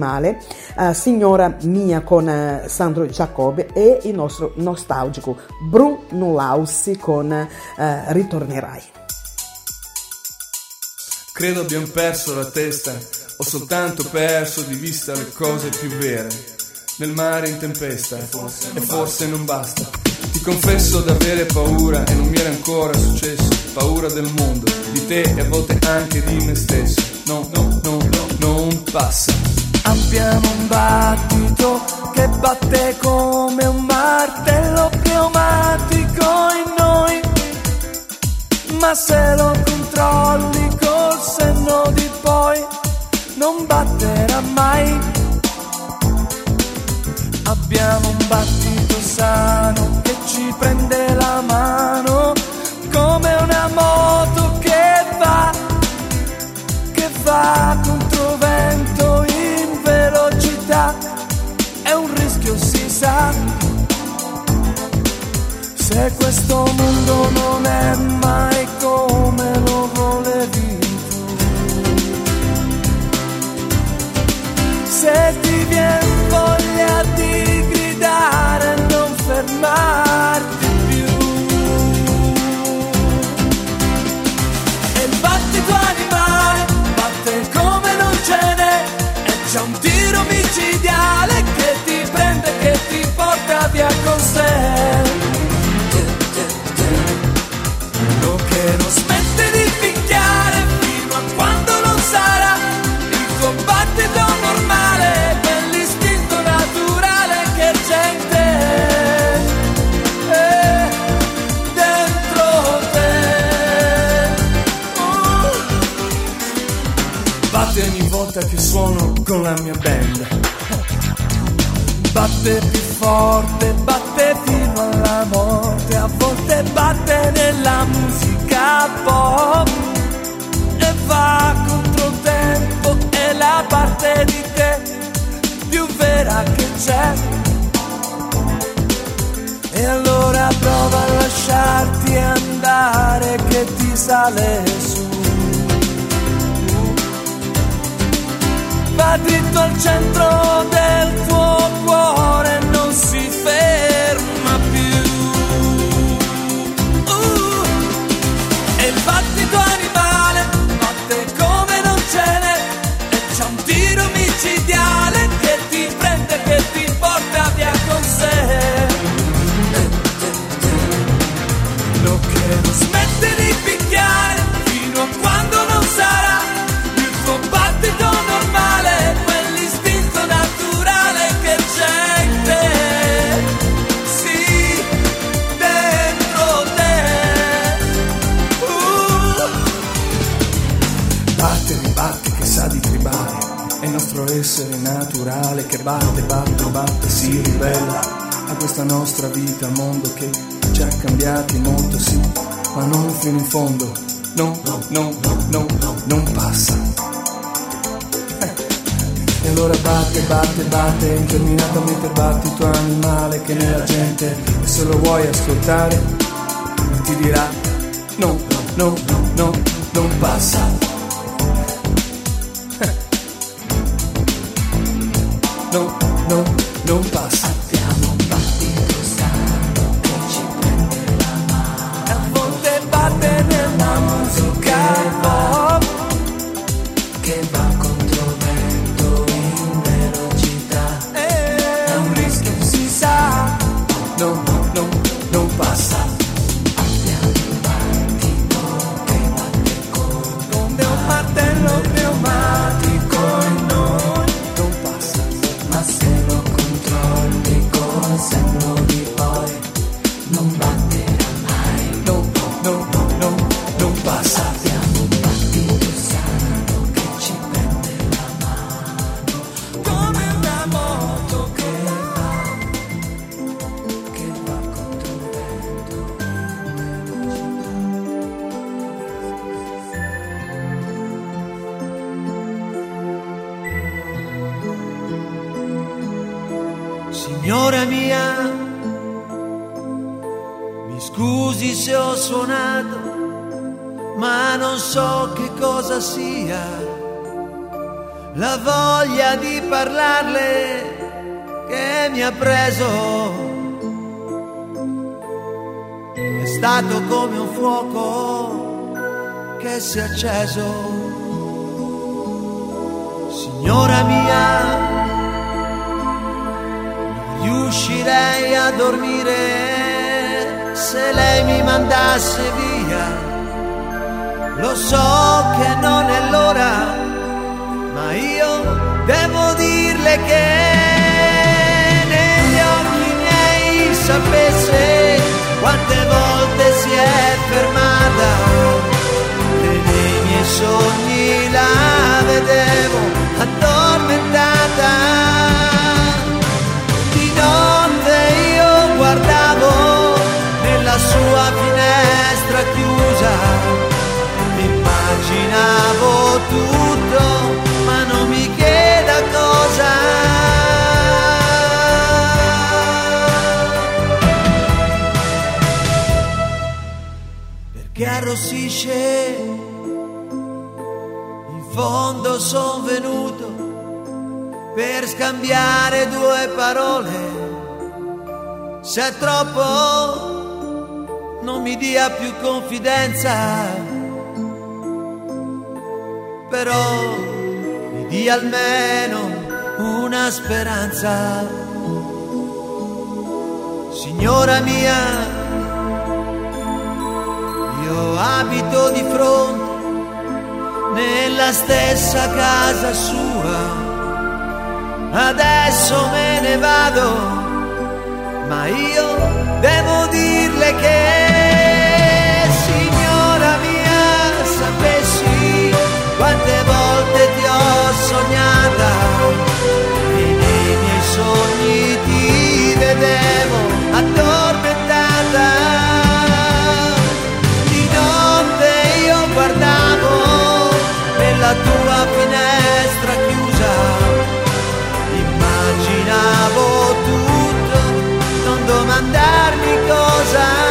animale, uh, Signora mia con uh, Sandro Giacobbe e il nostro nostalgico Bruno Laussi con uh, Ritornerai. Credo abbiamo perso la testa, ho soltanto perso di vista le cose più vere. Nel mare in tempesta, e forse non basta. Ti confesso d'avere paura e non mi era ancora successo. Paura del mondo, di te e a volte anche di me stesso. No, no, no, no, non passa. Abbiamo un battito che batte come un martello pneumatico in noi, ma se lo controlli col senno di poi non batterà mai. Abbiamo un battito sano che ci prende la mano come una moto che va, che va contro vento in velocità. È un rischio, si sa, se questo mondo non è mai come lo volevi tu. Se ti viene voglia di gridare e non fermarti più, e il battito animale batte come non ce n'è, e c'è un tiro micidiale che ti prende, che ti porta via con sé. Lo che non smette di picchiare fino a quando non sarà il tuo battito normale, quell'istinto naturale che c'è in te, eh, dentro te. Uh. Batte ogni volta che suono con la mia band. Batte più forte, batte fino alla morte, a volte batte nella musica pop e va contro il tempo, è la parte di te più vera che c'è. E allora prova a lasciarti andare che ti sale su. Va dritto al centro del tuo cuore, non si ferma più. Uh, e il battito animale batte come non ce n'è, e c'è un tiro micidiale che ti prende, che ti porta via con sé. Lo che non smette di picchiare fino a quando non sarà il tuo battito normale, quell'istinto naturale che c'è in te, sì, dentro te. Uh. Batte, ribatte che sa di tribale, è il nostro essere naturale che batte, batte, batte, si ribella a questa nostra vita, mondo che ci ha cambiati molto, sì, ma non fino in fondo, no, no, no, no, no, non passa. E allora batte, batte, batte, interminatamente batti il tuo animale che nella gente, e se lo vuoi ascoltare ti dirà no, no, no, no, non passa. No, no, non passa. Abbiamo un battito sano che ci prende la mano, e a volte batte nella musica pop che va contro vento in velocità. È un rischio, si sa. No, no, non passa. Abbiamo un battito che batte come un martello pneumatico in noi, non passa. ma se lo controlli col senno di poi non batterà mai. No, no, no, non passa. Abbiamo un battito sano che ci prende la mano come una moto che va, che va contro il vento Signora mia, mi scusi se ho suonato, ma non so che cosa sia. la voglia di parlarle che mi ha preso. È stato come un fuoco che si è acceso. Signora mia, non riuscirei a dormire se lei mi mandasse via. Lo so che non è l'ora, ma io devo dirle che negli occhi miei sapesse quante volte si è fermata e nei miei sogni la vedevo addormentata. Di notte io guardavo nella sua finestra chiusa, immaginavo tutto, ma non mi chieda cosa. Perché arrossisce, in fondo son venuto per scambiare due parole. Se è troppo non mi dia più confidenza, però mi dia almeno una speranza. Signora mia, io abito di fronte nella stessa casa sua. Adesso me ne vado, ma io devo dirle che, signora mia, sapessi quante volte ti ho sognata e nei miei sogni ti vedevo addormentata. Di notte io guardavo nella tua finestra chiusa, immaginavo tutto, non domandarmi cosa.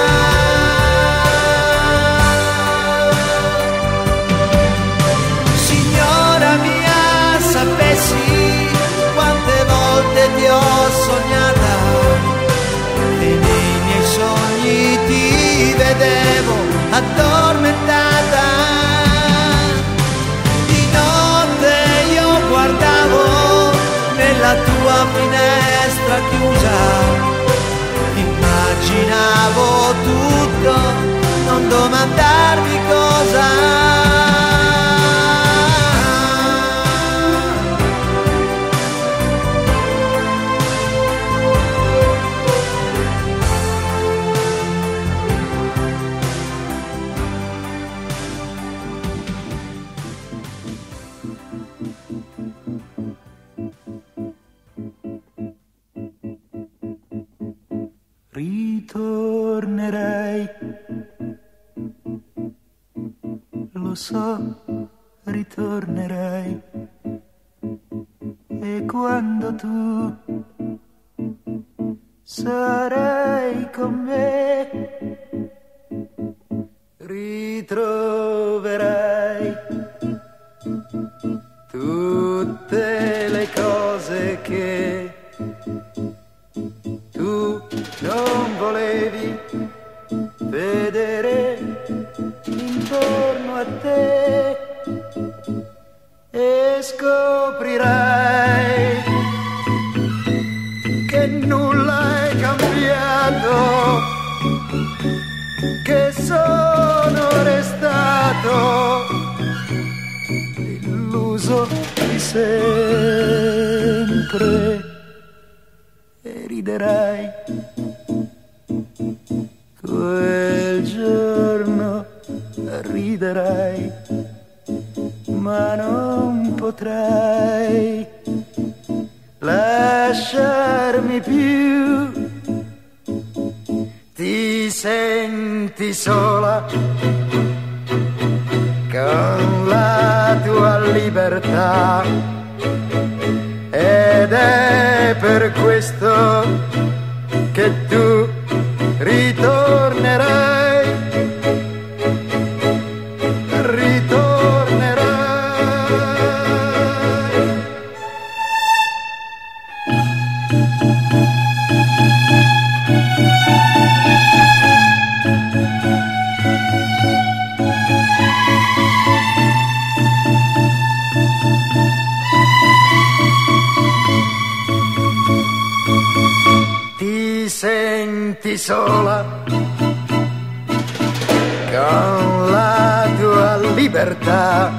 Sapessi quante volte ti ho sognata e nei miei sogni ti vedevo addormentata. Di notte io guardavo nella tua finestra chiusa, immaginavo tutto, non domandarmi cosa. Ritornerei, lo so, ritornerei, e quando tu sarai con me, ritroverai tutte le cose che tu non volevi vedere intorno a te, e scoprirai che nulla è cambiato, che sono restato illuso di sempre, e riderai quel giorno, riderai, ma non potrai lasciarmi più. Ti senti sola con la tua libertà, ed è per questo che tu ritornerai, ritornerai. Sola con la tua libertà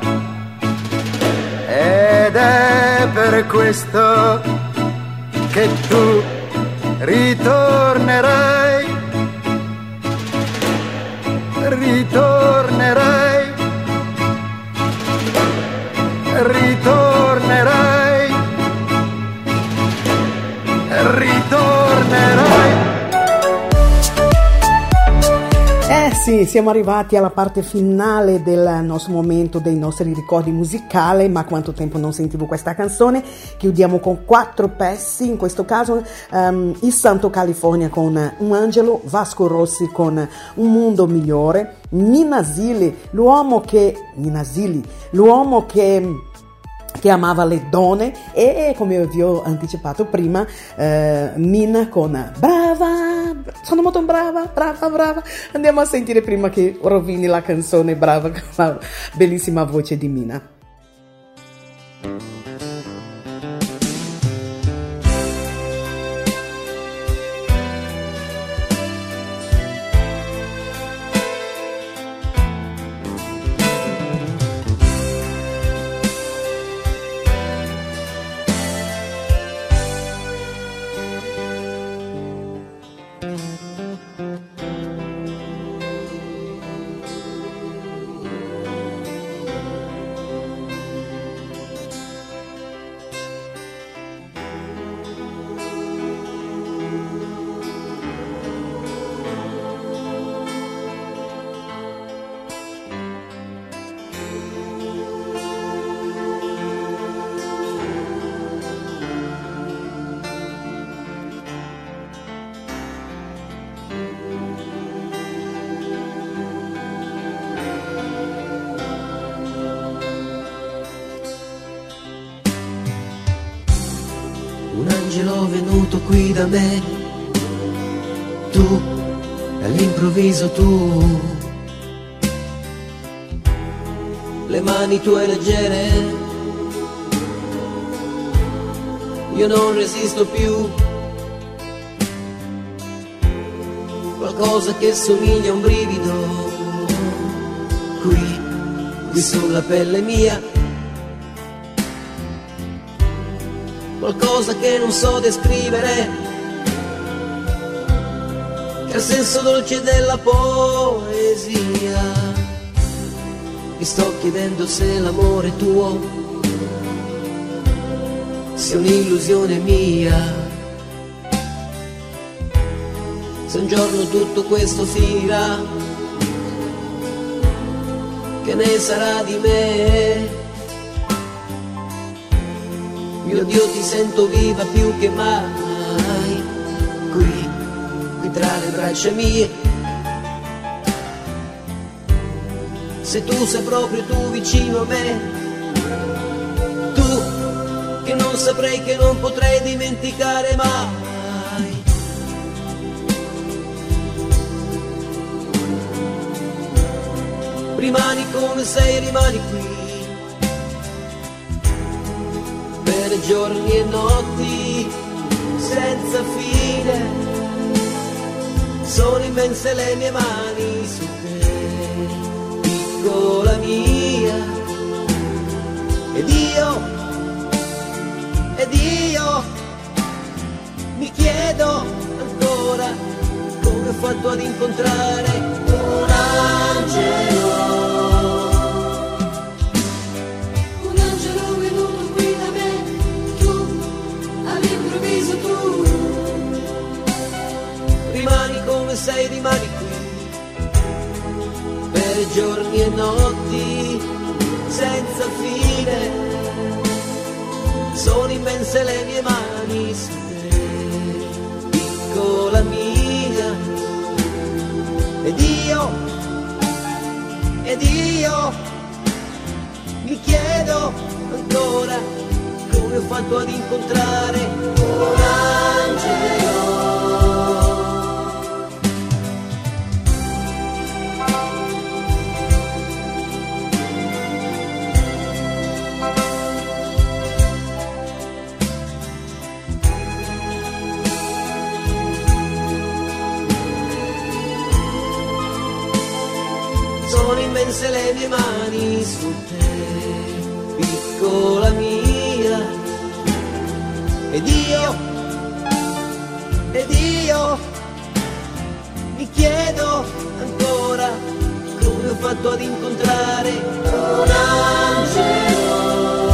ed è per questo che tu ritornerai, ritornerai, ritornerai, ritornerai. Eh sì, siamo arrivati alla parte finale del nostro momento dei nostri ricordi musicali, ma quanto tempo non sentivo questa canzone. Chiudiamo con quattro pezzi, in questo caso um, Il Santo California con Un Angelo, Vasco Rossi con Un Mondo Migliore, Nina Zilli, l'uomo che Nina Zilli, l'uomo che che amava le donne, e come vi ho anticipato prima eh, Mina con Brava, sono molto brava, brava, brava. Andiamo a sentire prima che rovini la canzone Brava con la bellissima voce di Mina. Venuto qui da me, tu, all'improvviso tu, le mani tue leggere, io non resisto più, qualcosa che somiglia a un brivido, qui, qui sulla pelle mia, qualcosa che non so descrivere, che ha il senso dolce della poesia. Mi sto chiedendo se l'amore tuo sia un'illusione mia, se un giorno tutto questo finirà, che ne sarà di me? Mio Dio, ti sento viva più che mai, qui, qui tra le braccia mie. Se tu sei proprio tu vicino a me, tu che non saprei, che non potrei dimenticare mai. Rimani come sei, rimani qui, per giorni e notti senza fine, sono immense le mie mani su te, piccola mia, ed io, ed io mi chiedo ancora come ho fatto ad incontrare un angelo. Rimani come sei, rimani qui, per giorni e notti senza fine, sono immense le mie mani su te, piccola mia, ed io, ed io mi chiedo ancora come come ho fatto ad incontrare un angelo. Sono immense le mie mani su te, piccola mia, ed io, ed io mi chiedo ancora come ho fatto ad incontrare un angelo.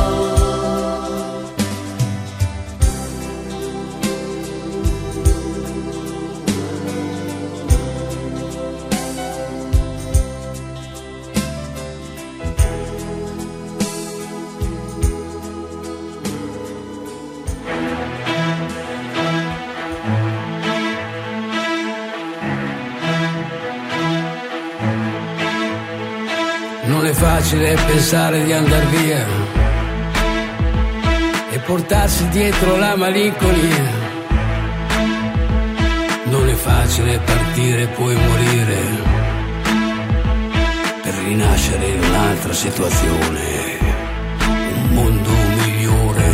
Non è facile pensare di andar via e portarsi dietro la malinconia. Non è facile partire e poi morire per rinascere in un'altra situazione, un mondo migliore.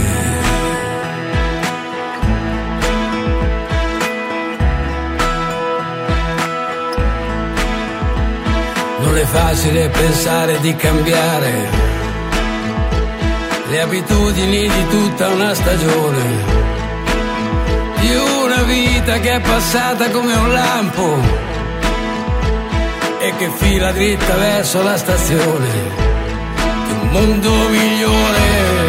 Non è facile pensare di cambiare le abitudini di tutta una stagione, di una vita che è passata come un lampo e che fila dritta verso la stazione di un mondo migliore,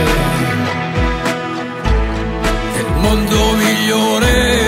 del mondo migliore.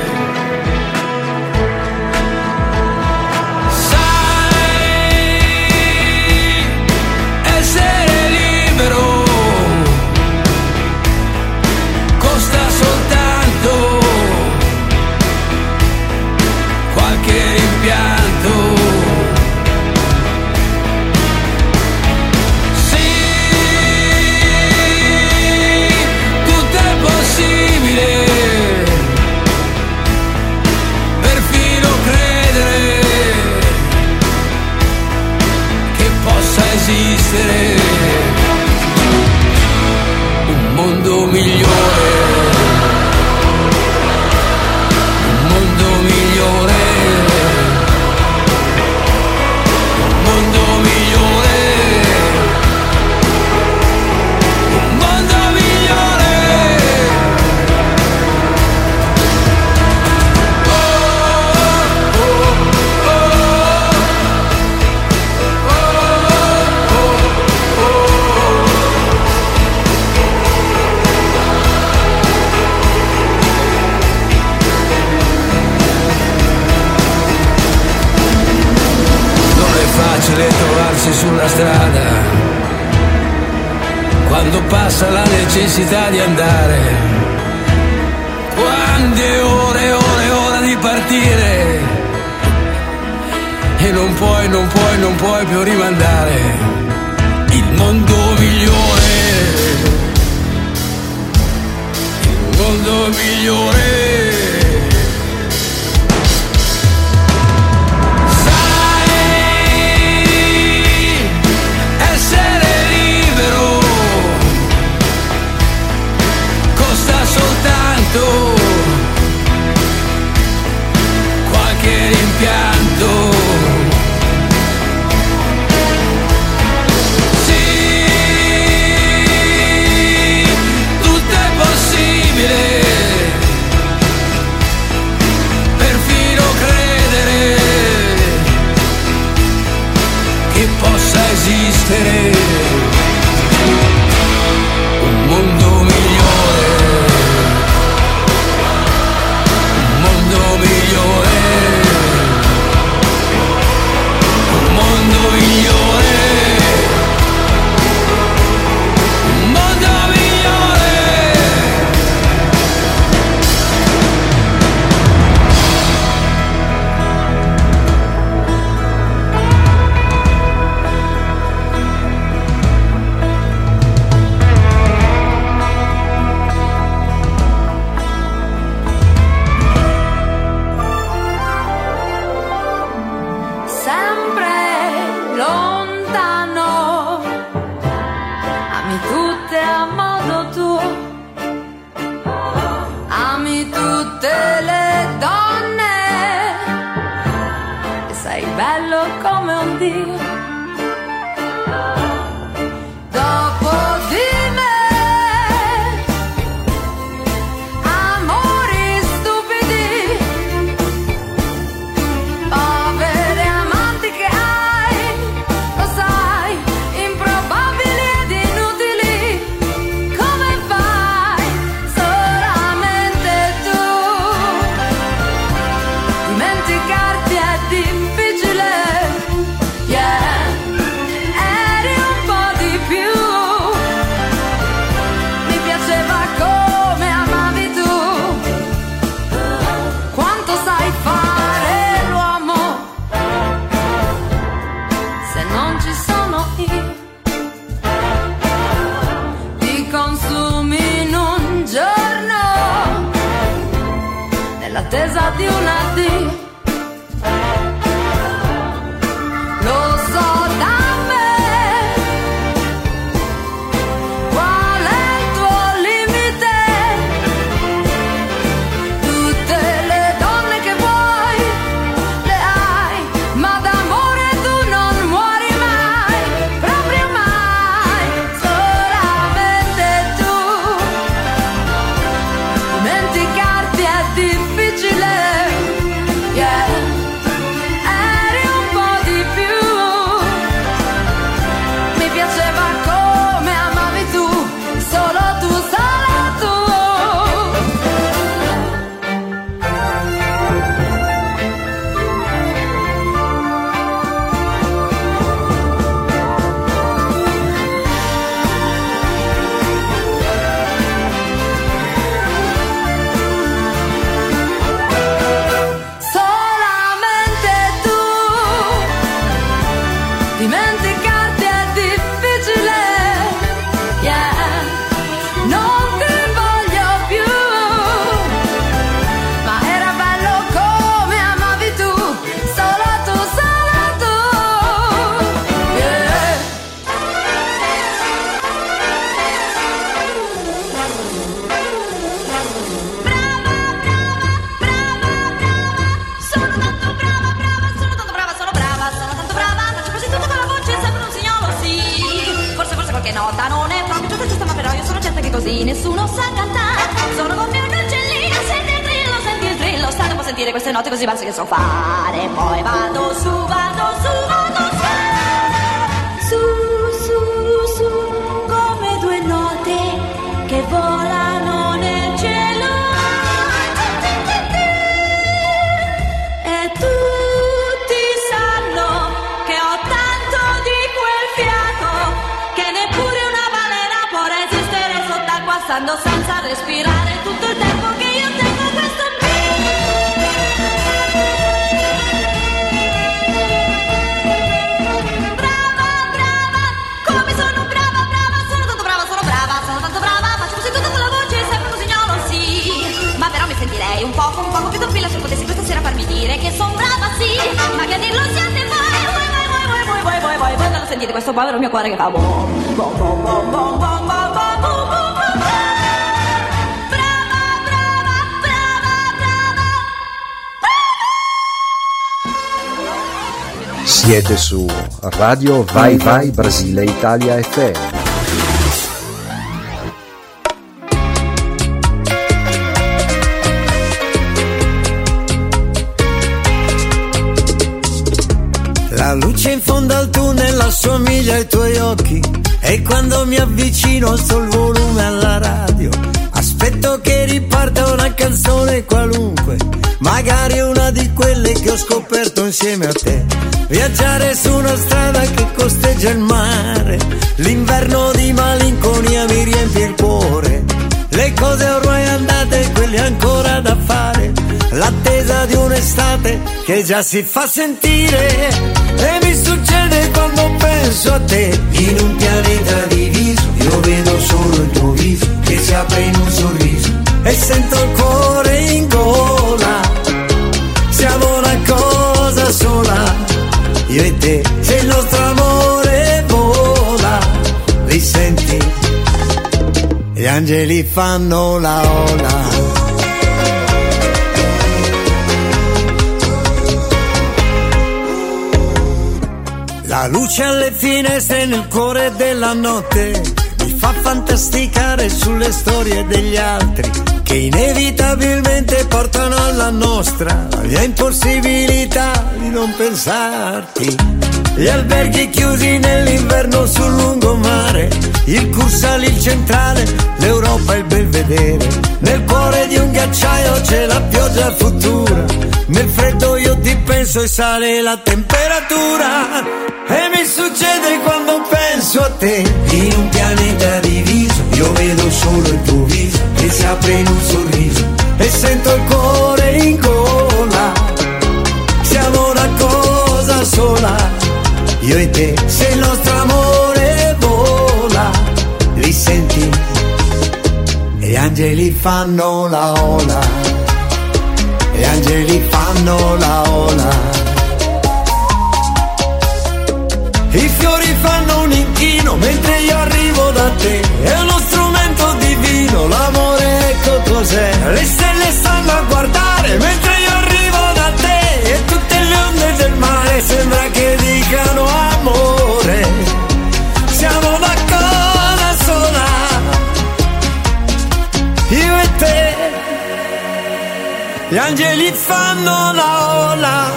Un mondo migliore, un mondo migliore, un mondo migliore, un mondo migliore. Oh, oh, facile trovarsi sulla strada quando passa la necessità di andare, quando è ora e ora e ora di partire e non puoi, non puoi, non puoi più rimandare. Il mondo migliore, il mondo migliore. Qualche rimpianto, sì, tutto è possibile bello come un dio. Dopo di me, amori stupidi, povere amanti che hai, lo sai, improbabili ed inutili. Come fai? Solamente tu. Dimenticarti è difficile, yeah. Eri un po' di più. Mi piaceva come amavi tu. Quanto sai fare l'uomo se non ci sono io. Ti consumi in un giorno nell'attesa di un addio. Lo so da me qual è il tuo limite. Tutte le donne che vuoi le hai, ma d'amore tu non muori mai, proprio mai. Solamente tu. Dimenticarti è difficile, yeah. Eri un po' di più. Mi piaceva come amavi tu, solo tu, solo tu. Solamente tu. Dimenticarti è difficile, yeah. Non ti voglio più, ma era bello come amavi tu, solo tu, solo tu, yeah. Sono tanto brava, brava, sono tanto brava, sono brava, sono tanto brava. Faccio così tutto con la voce, sembra un signolo, sì. Forse, forse qualche nota non è proprio giusta, giusta, ma però io sono certa che così nessuno sa cantare. Sono come un uccellino, senti il trillo, senti il trillo. State un po' a sentire queste note così basse che so fare. Poi vado su, vado su, vado su. Su, su, su, come due note che volano nel cielo. E tutti sanno che ho tanto di quel fiato che neppure una balena può resistere sott'acqua stando senza respirare tutto il tempo che io tengo questo brava, brava, come sono brava, brava, sono tanto brava, sono brava, sono tanto brava. Faccio così tutto con la voce, sembra un signolo, sì. Ma però mi sentirei un poco, un poco più tranquilla se potessi questa sera farmi dire che son brava, sì. Ma che a dirlo siete voi, voi, voi, voi, voi, voi, voi, voi, voi, voi, non sentite questo povero mio cuore che fa bom, bom, bom, bom, bom, bom, bom, bom, bom, bom. Brava, brava, brava, brava. Siete su Radio Vai Vai Brasile Italia F M. La luce in fondo al tunnel assomiglia ai tuoi occhi e quando mi avvicino alzo il volume alla radio. Aspetto che riparta una canzone qualunque, magari una di quelle che ho scoperto insieme a te. Viaggiare su una strada che costeggia il mare, l'inverno di malinconia mi riempie il cuore. Le cose ormai andate, quelle ancora da fare, l'attesa di un'estate che già si fa sentire. E mi succede quando penso a te, in un pianeta diviso, io vedo solo il tuo viso che si apre in un sorriso e sento il cuore in gola. Siamo una cosa sola, io e te, se il nostro amore vola. Li senti? Gli angeli fanno la ola. La luce alle finestre nel cuore della notte mi fa fantasticare sulle storie degli altri che inevitabilmente portano alla nostra la mia impossibilità di non pensarti. Gli alberghi chiusi nell'inverno sul lungomare, il Cursale, il Centrale, l'Europa e il Belvedere. Nel cuore di un ghiacciaio c'è la pioggia futura, nel freddo io ti penso e sale la temperatura. E mi succede quando penso a te, in un pianeta diviso, io vedo solo il tuo viso che si apre in un sorriso e sento il cuore in gola. Siamo una cosa sola, io e te, se il nostro amore vola, li senti? E gli angeli fanno la ola, gli angeli fanno la ola. I fiori fanno un inchino mentre io arrivo da te, è uno strumento divino, l'amore ecco cos'è. Le stelle stanno a guardare mentre io arrivo da te, e tutte le onde del mare sembra che dicano amore. Siamo una cosa sola, io e te. Gli angeli fanno la ola,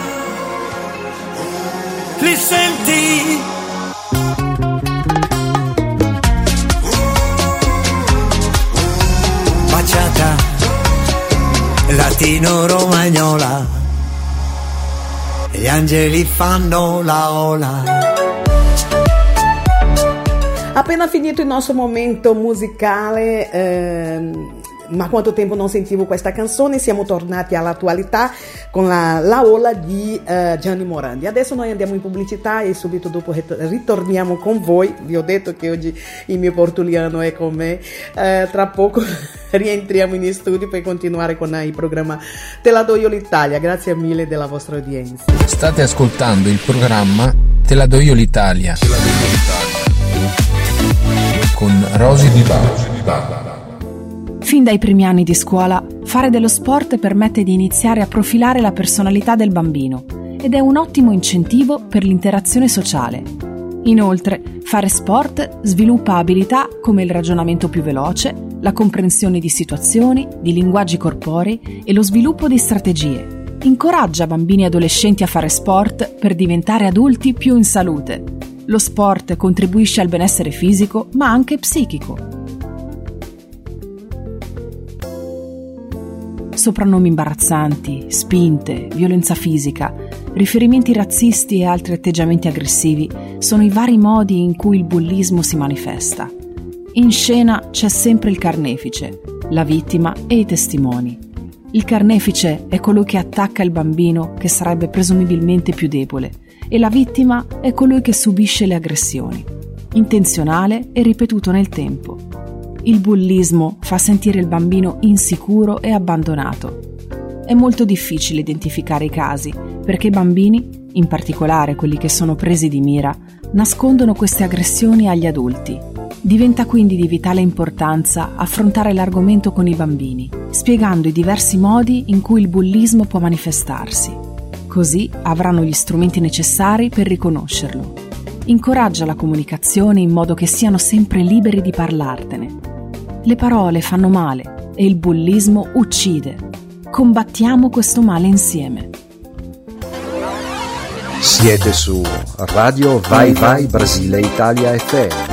li senti? Baciata latino-romagnola, gli angeli fanno la ola. Appena finito il nostro momento musicale, ehm, ma quanto tempo non sentivo questa canzone, siamo tornati all'attualità con la, la ola di uh, Gianni Morandi. Adesso noi andiamo in pubblicità e subito dopo ritorniamo con voi. Vi ho detto che oggi il mio portuliano è con me, uh, tra poco rientriamo in studio per continuare con il programma Te la do io l'Italia. Grazie mille della vostra udienza. State ascoltando il programma Te la do io l'Italia con Rosy Di Bala. Fin dai primi anni di scuola, fare dello sport permette di iniziare a profilare la personalità del bambino ed è un ottimo incentivo per l'interazione sociale. Inoltre, fare sport sviluppa abilità come il ragionamento più veloce, la comprensione di situazioni, di linguaggi corporei e lo sviluppo di strategie. Incoraggia bambini e adolescenti a fare sport per diventare adulti più in salute. Lo sport contribuisce al benessere fisico, ma anche psichico. Soprannomi imbarazzanti, spinte, violenza fisica, riferimenti razzisti e altri atteggiamenti aggressivi sono i vari modi in cui il bullismo si manifesta. In scena c'è sempre il carnefice, la vittima e i testimoni. Il carnefice è colui che attacca il bambino che sarebbe presumibilmente più debole e la vittima è colui che subisce le aggressioni, intenzionale e ripetuto nel tempo. Il bullismo fa sentire il bambino insicuro e abbandonato. È molto difficile identificare i casi perché i bambini, in particolare quelli che sono presi di mira, nascondono queste aggressioni agli adulti. Diventa quindi di vitale importanza affrontare l'argomento con i bambini, spiegando i diversi modi in cui il bullismo può manifestarsi. Così avranno gli strumenti necessari per riconoscerlo. Incoraggia la comunicazione in modo che siano sempre liberi di parlartene. Le parole fanno male e il bullismo uccide. Combattiamo questo male insieme. Siete su Radio Vai Vai Brasile Italia F M.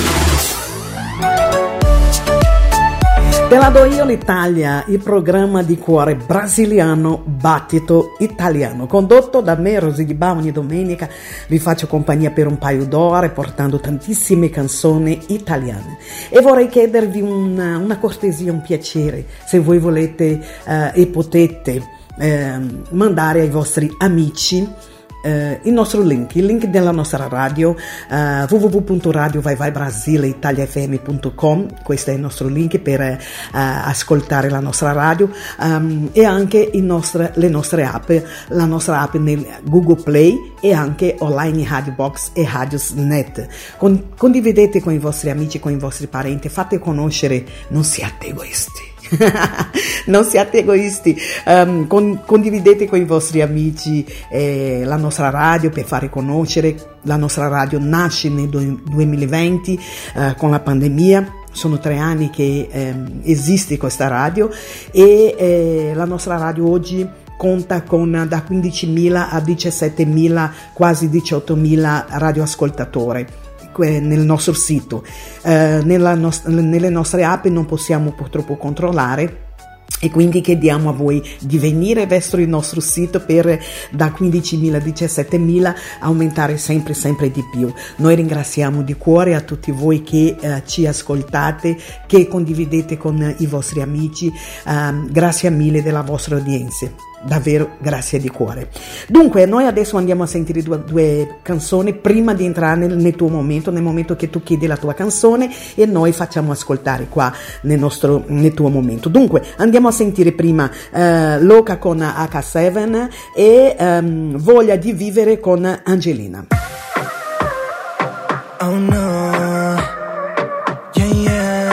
Te la do io l'Italia, il programma di cuore brasiliano Battito Italiano, condotto da me, Rosy Di Bala. Ogni domenica vi faccio compagnia per un paio d'ore portando tantissime canzoni italiane e vorrei chiedervi una, una cortesia, un piacere, se voi volete eh, e potete eh, mandare ai vostri amici Uh, il nostro link, il link della nostra radio, uh, w w w punto radio vai vai brasile italia f m punto com. Questo è il nostro link per uh, ascoltare la nostra radio, um, e anche il nostro, le nostre app, la nostra app nel Google Play e anche online in Radio Box e Radiosnet. Con, condividete con i vostri amici, con i vostri parenti, fate conoscere, non siate egoisti. Non siate egoisti, um, con, condividete con i vostri amici eh, la nostra radio per fare conoscere. La nostra radio nasce nel duemilaventi eh, con la pandemia. Sono tre anni che eh, esiste questa radio e eh, la nostra radio oggi conta con da quindicimila a diciassettemila, quasi diciottomila radioascoltatori nel nostro sito. Eh, nella nost- nelle nostre app non possiamo purtroppo controllare, e quindi chiediamo a voi di venire verso il nostro sito per da quindicimila a diciassettemila aumentare sempre sempre di più. Noi ringraziamo di cuore a tutti voi che eh, ci ascoltate, che condividete con i vostri amici. Um, grazie mille della vostra udienza. Davvero grazie di cuore. Dunque noi adesso andiamo a sentire due, due canzoni prima di entrare nel, nel tuo momento, nel momento che tu chiedi la tua canzone e noi facciamo ascoltare qua nel, nostro, nel tuo momento. Dunque andiamo a sentire prima uh, Loca con acca sette e um, Voglia di vivere con Angelina. Oh no, yeah yeah.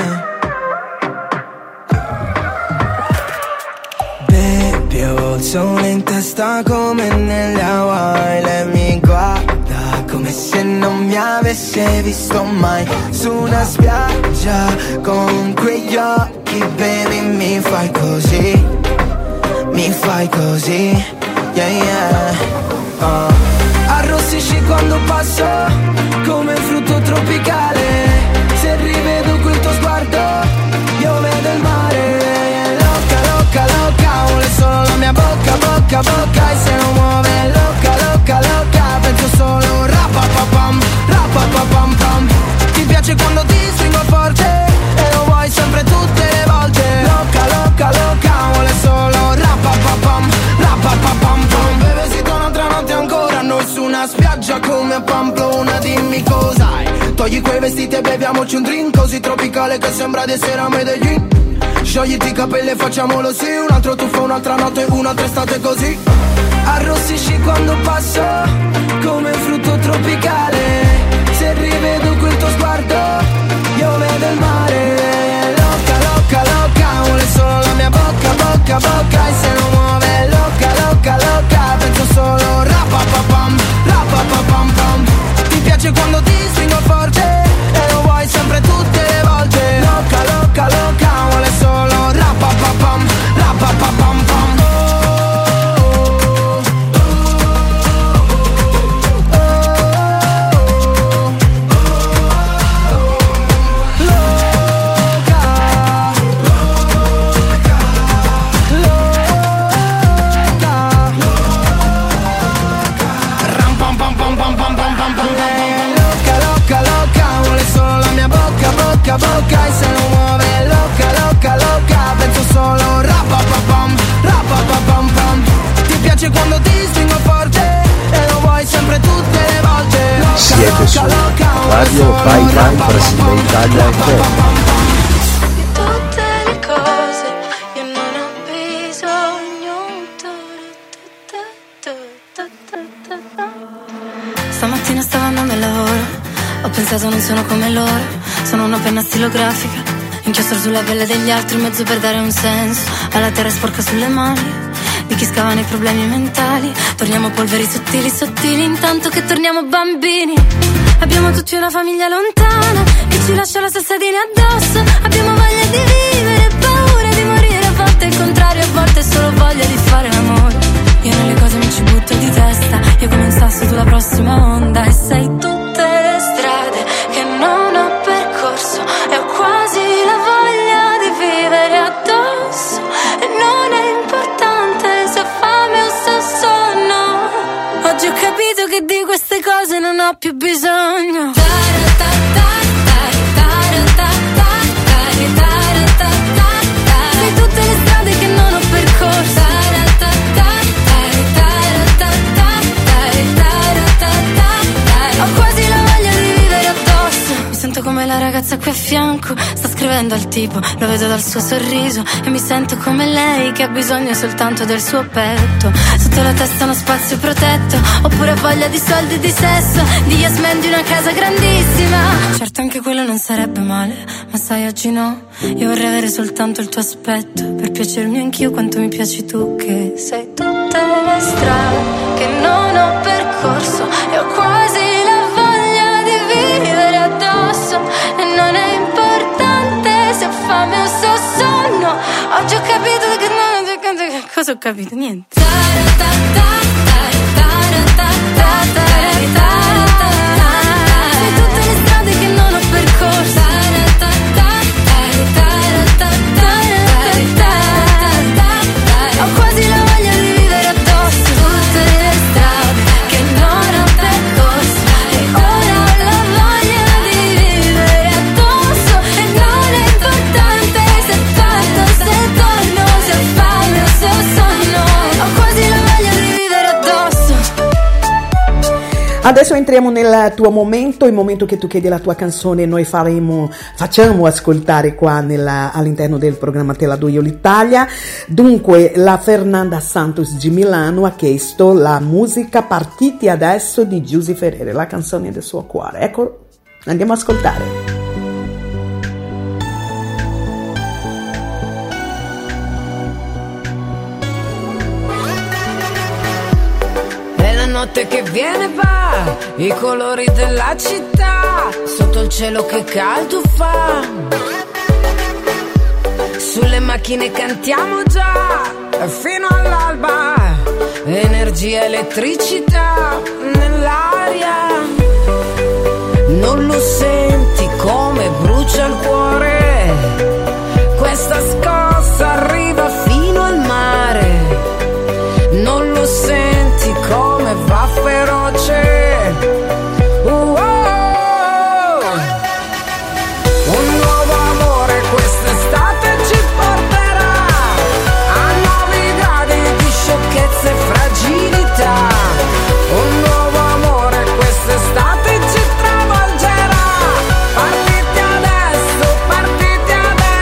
Baby, ho il sole in testa come nelle Hawaii. Lei mi guarda come se non mi avesse visto mai. Su una spiaggia con quegli occhi, baby, mi fai così, mi fai così, yeah yeah. uh. Arrossisci quando passo come frutto tropicale. Se rivedo quel tuo sguardo io vedo il mare. Loca, loca, loca, vuole solo la mia bocca, bocca, bocca. E se non muove loca, loca, loca, penso solo rapapapam, rapapapam pam. Ti piace quando ti stringo forte e lo vuoi sempre tutte le volte. Loca, loca, loca, vuole solo rapapapam, rapapapam pam. Beve si torna un'altra notte ancora, noi su una spiaggia come a Pamplona. Dimmi cos'hai, togli quei vestiti e beviamoci un drink così tropicale che sembra di essere a Medellin. Sciogliti i capelli e facciamolo sì, un altro tuffo, un'altra notte, un'altra estate così. Arrossisci quando passo come frutto tropicale. Se rivedo quel tuo sguardo io vedo il mare. Loca, loca, loca, vuole solo la mia bocca, bocca, bocca. E se non muove loca, loca, loca, penso solo rapapapam, rapapapam pam. Ti piace quando ti stringo forte e lo vuoi sempre tutte le volte. Loca, loca, loca, vuole solo rapapapam, rapapapam pam. Bocca, bocca, e se non muove loca, loca, loca, penso solo rapapapam, rapapapam pam. Ti piace quando ti stringo forte e lo vuoi sempre tutte le volte. Loca, siete loca, su loca, Radio Vai Vai Brasile Italia F M. Tutte le cose io non ho bisogno. Stamattina stavo andando al lavoro, ho pensato non sono come loro. Sono una penna stilografica, inchiostro sulla pelle degli altri, in mezzo per dare un senso alla terra sporca sulle mani di chi scava nei problemi mentali. Torniamo polveri sottili, sottili, intanto che torniamo bambini. Abbiamo tutti una famiglia lontana che ci lascia la salsadina addosso. Abbiamo voglia di vivere, paura di morire, a volte il contrario, a volte solo voglia di fare l'amore. Io nelle cose mi ci butto di testa, io come un sasso sulla prossima onda. E sei tutte le strade che non ho percorso e ho quasi la voglia di vivere addosso. E non è importante se ho fame o se ho sonno. Oggi ho capito che di queste cose non ho più bisogno. Sei tutte le strade che non ho percorso. Ho quasi la voglia di vivere addosso. Mi sento come la ragazza qui a fianco, sta scrivendo scrivendo al tipo, lo vedo dal suo sorriso e mi sento come lei che ha bisogno soltanto del suo petto. Sotto la testa uno spazio protetto, oppure voglia di soldi e di sesso, di yes man, di una casa grandissima. Certo anche quello non sarebbe male, ma sai oggi no. Io vorrei avere soltanto il tuo aspetto, per piacermi anch'io quanto mi piaci tu, che sei tutte le strade che non ho percorso e ho quasi la voglia di vivere addosso. E non è importante se ho fame o se ho sonno. Oggi ho capito che non... Cosa ho capito? Niente. Sei tutte le strade che non ho percorso. Ho quasi la voglia di vivere addosso. Tutte le strade che non ho percorso. E ora ho la voglia di vivere addosso. E non è importante se parto, se torno, se ho fame o se ho sonno. Ho quasi la voglia di vivere addosso. Adesso entriamo nel tuo momento, il momento che tu chiedi la tua canzone, noi faremo, facciamo ascoltare qua nella, all'interno del programma Te la do io l'Italia. Dunque la Fernanda Santos di Milano ha chiesto la musica Partiti adesso di Giusy Ferrere, la canzone del suo cuore. Ecco, andiamo ad ascoltare. Notte che viene va, i colori della città, sotto il cielo che caldo fa. Sulle macchine cantiamo già, fino all'alba. Energia, elettricità nell'aria. Non lo senti come brucia il cuore? Questa scossa arriva fino al mare. Non lo senti come va feroce? Uh, oh, oh. Un nuovo amore quest'estate ci porterà a nuovi gradi di sciocchezza e fragilità. Un nuovo amore quest'estate ci travolgerà. Partiti adesso, partiti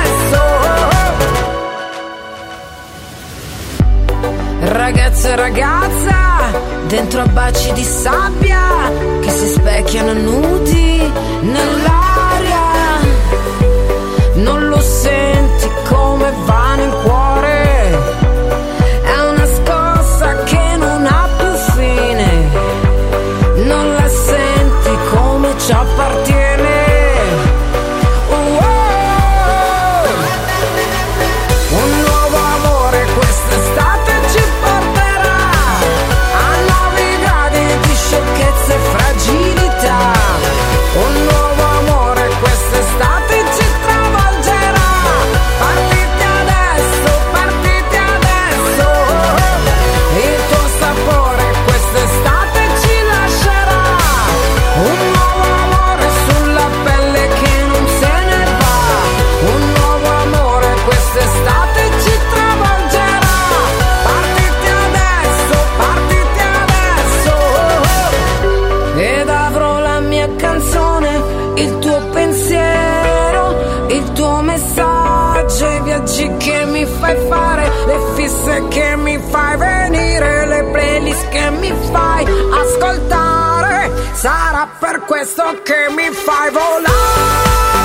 adesso. Ragazza e ragazza, dentro a baci di sabbia che si specchiano nudi nell'aria. Non lo senti come va nel cuore? È una scossa che non ha più fine. Non la senti come ci appartiene? Oh, oh, oh. Un nuovo amore quest'estate ci porterà a nuovi gradi di sciocchezza e fragilità. Un nuovo amore quest'estate ci travolgerà. Partiti adesso, partiti adesso. Il tuo sapore quest'estate ci lascerà. Un nuovo amore sulla pelle che non se ne va. Un nuovo amore quest'estate ci travolgerà. Partiti adesso, partiti adesso. Ed avrò la mia canzone, il tuo pensiero, il tuo messaggio, i viaggi che mi fai fare, le fisse che mi fai venire, le playlist che mi fai ascoltare. Sarà per questo che mi fai volare.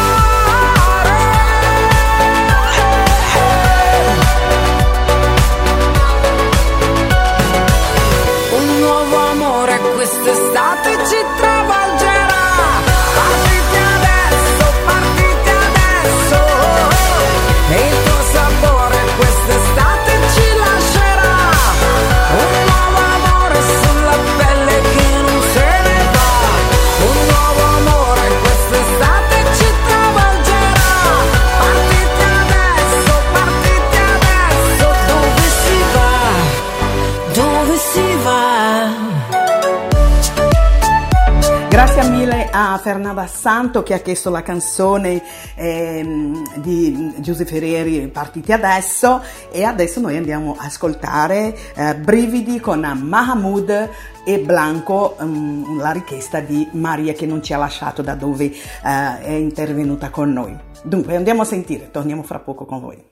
Un nuovo amore quest'estate ci travolgerà. Partiti adesso, partiti adesso. E il tuo sapore quest'estate ci lascerà. Un nuovo amore sulla pelle che non se ne va. Un nuovo amore quest'estate ci travolgerà. Partiti adesso, partiti adesso. Dove si va? Dove si va? Grazie Grazie mille a Fernanda Santo che ha chiesto la canzone ehm, di Giuseppe Ferreri, Partiti adesso, e adesso noi andiamo a ascoltare eh, Brividi con Mahmood e Blanco, um, la richiesta di Maria che non ci ha lasciato da dove uh, è intervenuta con noi. Dunque andiamo a sentire, torniamo fra poco con voi.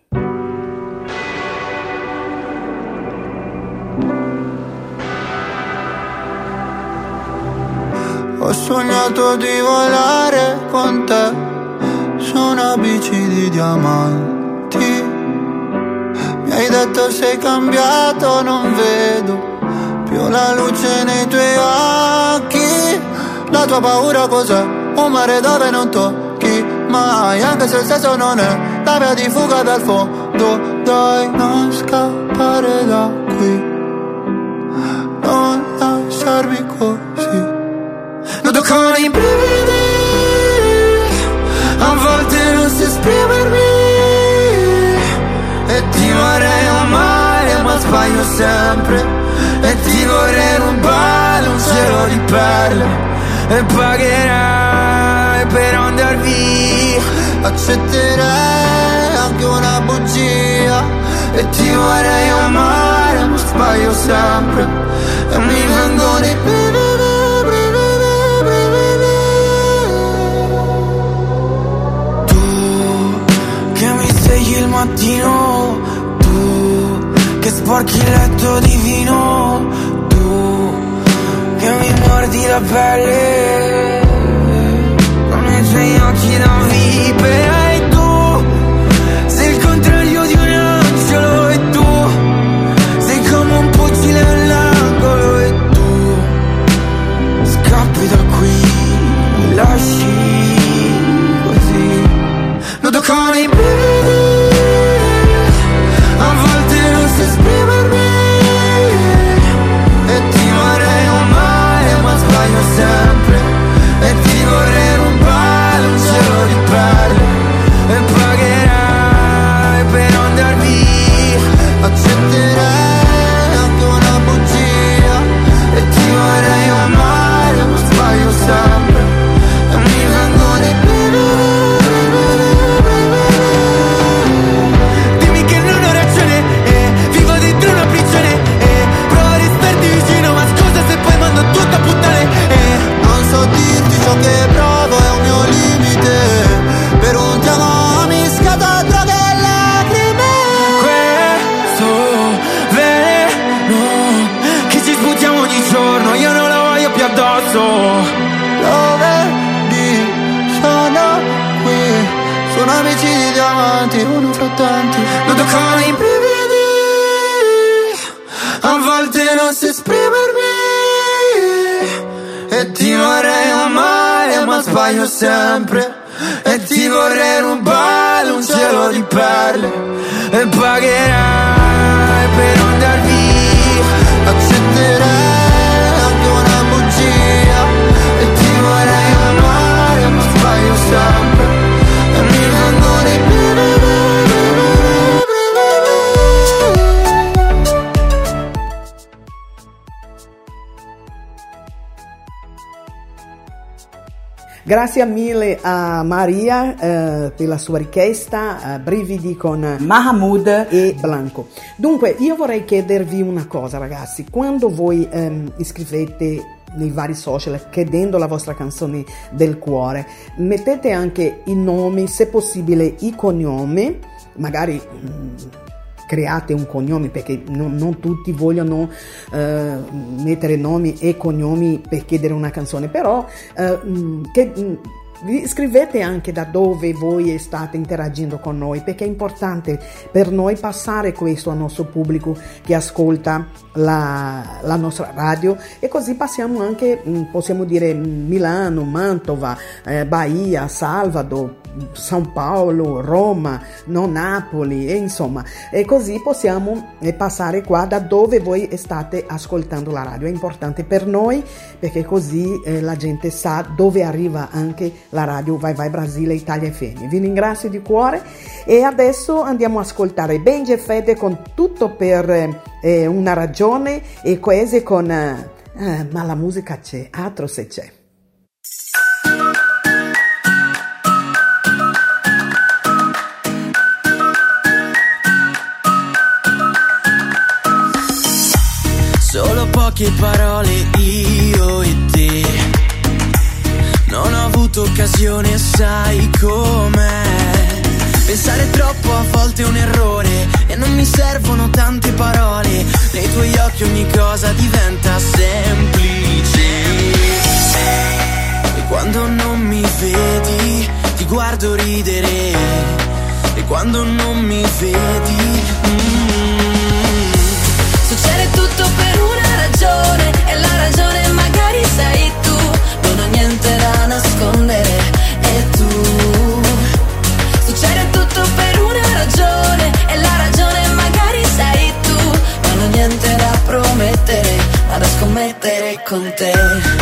Ho sognato di volare con te su una bici di diamanti. Mi hai detto sei cambiato, non vedo più la luce nei tuoi occhi. La tua paura cos'è? Un mare dove non tocchi mai, anche se il senso non è la via di fuga dal fondo. Dai, non scappare da qui, non lasciarmi così. Noto con i brividi, a volte non so esprimermi, e ti vorrei amare ma sbaglio sempre, e ti vorrei rubare un cielo di perle, e pagherai per andar via. Accetterei anche una bugia, e ti vorrei amare ma sbaglio sempre, e mi vengono i brividi. Il mattino, tu che sporchi il letto di vino, tu che mi mordi la pelle con i tuoi occhi da vipera, e tu sei il contrario di un angelo, e tu sei come un fucile all'angolo, e tu scappi da qui, mi lasci così, nudo con i brividi. Esprimermi, e ti vorrei amare ma sbaglio sempre, e ti vorrei rubare un cielo di perle, e pagherai per andar via. Accetterei anche una bugia, e ti vorrei amare ma sbaglio sempre, e mi vengono i brividi. Dimmi che non ho ragione, una prigione, eh, provo a restarti vicino, ma scusa se poi mando tutto a puttane, eh. Non so dirti ciò che provo, è un mio limite, per un ti amo mi scata droga e lacrime. Questo veleno che ci sputiamo ogni giorno, io non lo voglio più addosso. Lo vedi, sono qui, sono amici di diamanti, uno fra tanti, non toccano i brividi. A volte non so esprimermi, e ti vorrei amare ma sbaglio sempre, e ti vorrei rubare un cielo di perle, e pagherai per andar via. Accetterei anche una bugia, e ti vorrei amare ma sbaglio sempre, e mi vengono i brividi. Grazie mille a Maria eh, per la sua richiesta, eh, Brividi con Mahmood e Blanco. Dunque io vorrei chiedervi una cosa, ragazzi, quando voi ehm, iscrivete nei vari social chiedendo la vostra canzone del cuore, mettete anche i nomi, se possibile i cognomi, magari mh, create un cognome, perché non, non tutti vogliono eh, mettere nomi e cognomi per chiedere una canzone, però eh, che vi scrivete anche da dove voi state interagendo con noi, perché è importante per noi passare questo al nostro pubblico che ascolta la, la nostra radio, e così passiamo anche, possiamo dire, Milano, Mantova, eh, Bahia, Salvador, São Paulo, Roma, no, Napoli, e insomma, e così possiamo eh, passare qua da dove voi state ascoltando la radio. È importante per noi, perché così eh, la gente sa dove arriva anche la radio Vai Vai Brasile Italia F M. Vi ringrazio di cuore, e adesso andiamo a ascoltare Benji e Fede con Tutto per eh, una ragione, e Coese con eh, ma la musica c'è, altro se c'è. Solo poche parole io e te. Non ho avuto occasione, sai com'è. Pensare troppo a volte è un errore e non mi servono tante parole. Nei tuoi occhi ogni cosa diventa semplice. E quando non mi vedi ti guardo ridere. E quando non mi vedi mm, succede tutto per una ragione e la ragione magari sei tu. Non ho niente da nascondere e tu. Succede tutto per una ragione e la ragione magari sei tu. Non ho niente da promettere, ma da scommettere con te.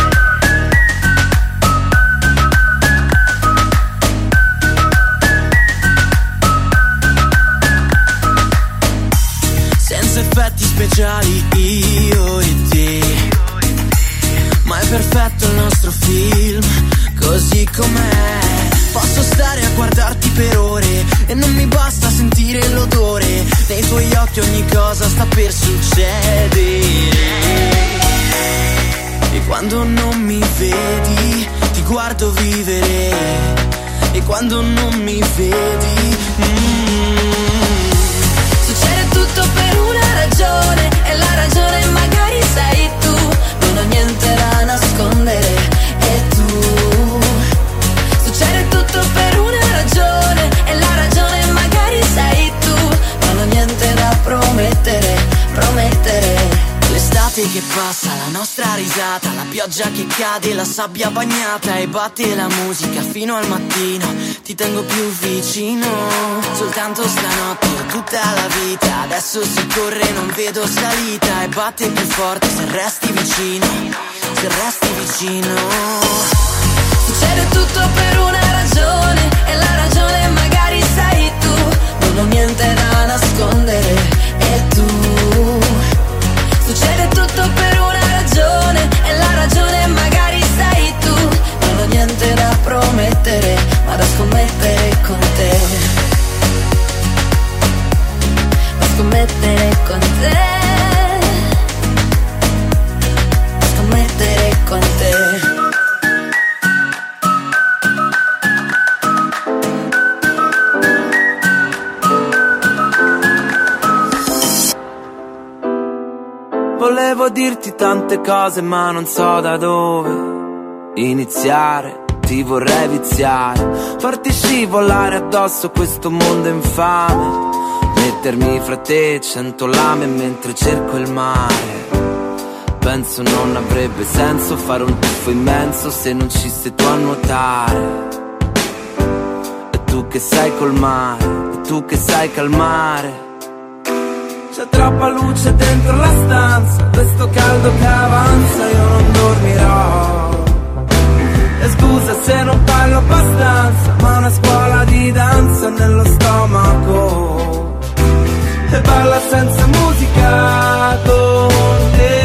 Effetti speciali io e te, ma è perfetto il nostro film così com'è. Posso stare a guardarti per ore e non mi basta sentire l'odore. Nei tuoi occhi ogni cosa sta per succedere. E quando non mi vedi ti guardo vivere. E quando non mi vedi mm, succede tutto per una ragione e la ragione magari sei tu. Non ho niente da nascondere e tu. Succede tutto per una ragione e la ragione magari sei tu. Non ho niente da promettere, promettere. L'estate che passa, la nostra risata, la pioggia che cade, la sabbia bagnata e batte la musica fino al mattino. Ti tengo più vicino, soltanto stanotte o tutta la vita. Adesso si corre, non vedo salita e batte più forte se resti vicino, se resti vicino. Succede tutto per una ragione e la ragione magari sei tu. Non ho niente da nascondere e tu. Succede tutto per una ragione e la ragione magari sei tu. Non ho niente da promettere, ma da scommettere con te. Da scommettere con te. Da scommettere con te. Volevo dirti tante cose ma non so da dove iniziare. Ti vorrei viziare, farti scivolare addosso questo mondo infame, mettermi fra te cento lame mentre cerco il mare. Penso non avrebbe senso fare un tuffo immenso se non ci sei tu a nuotare. E tu che sai col mare, e tu che sai calmare. C'è troppa luce dentro la stanza, questo caldo che avanza, io non dormirò. E scusa se non parlo abbastanza, ma una scuola di danza nello stomaco. E balla senza musica con te.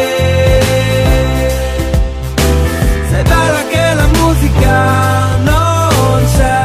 Sei bella che la musica non c'è.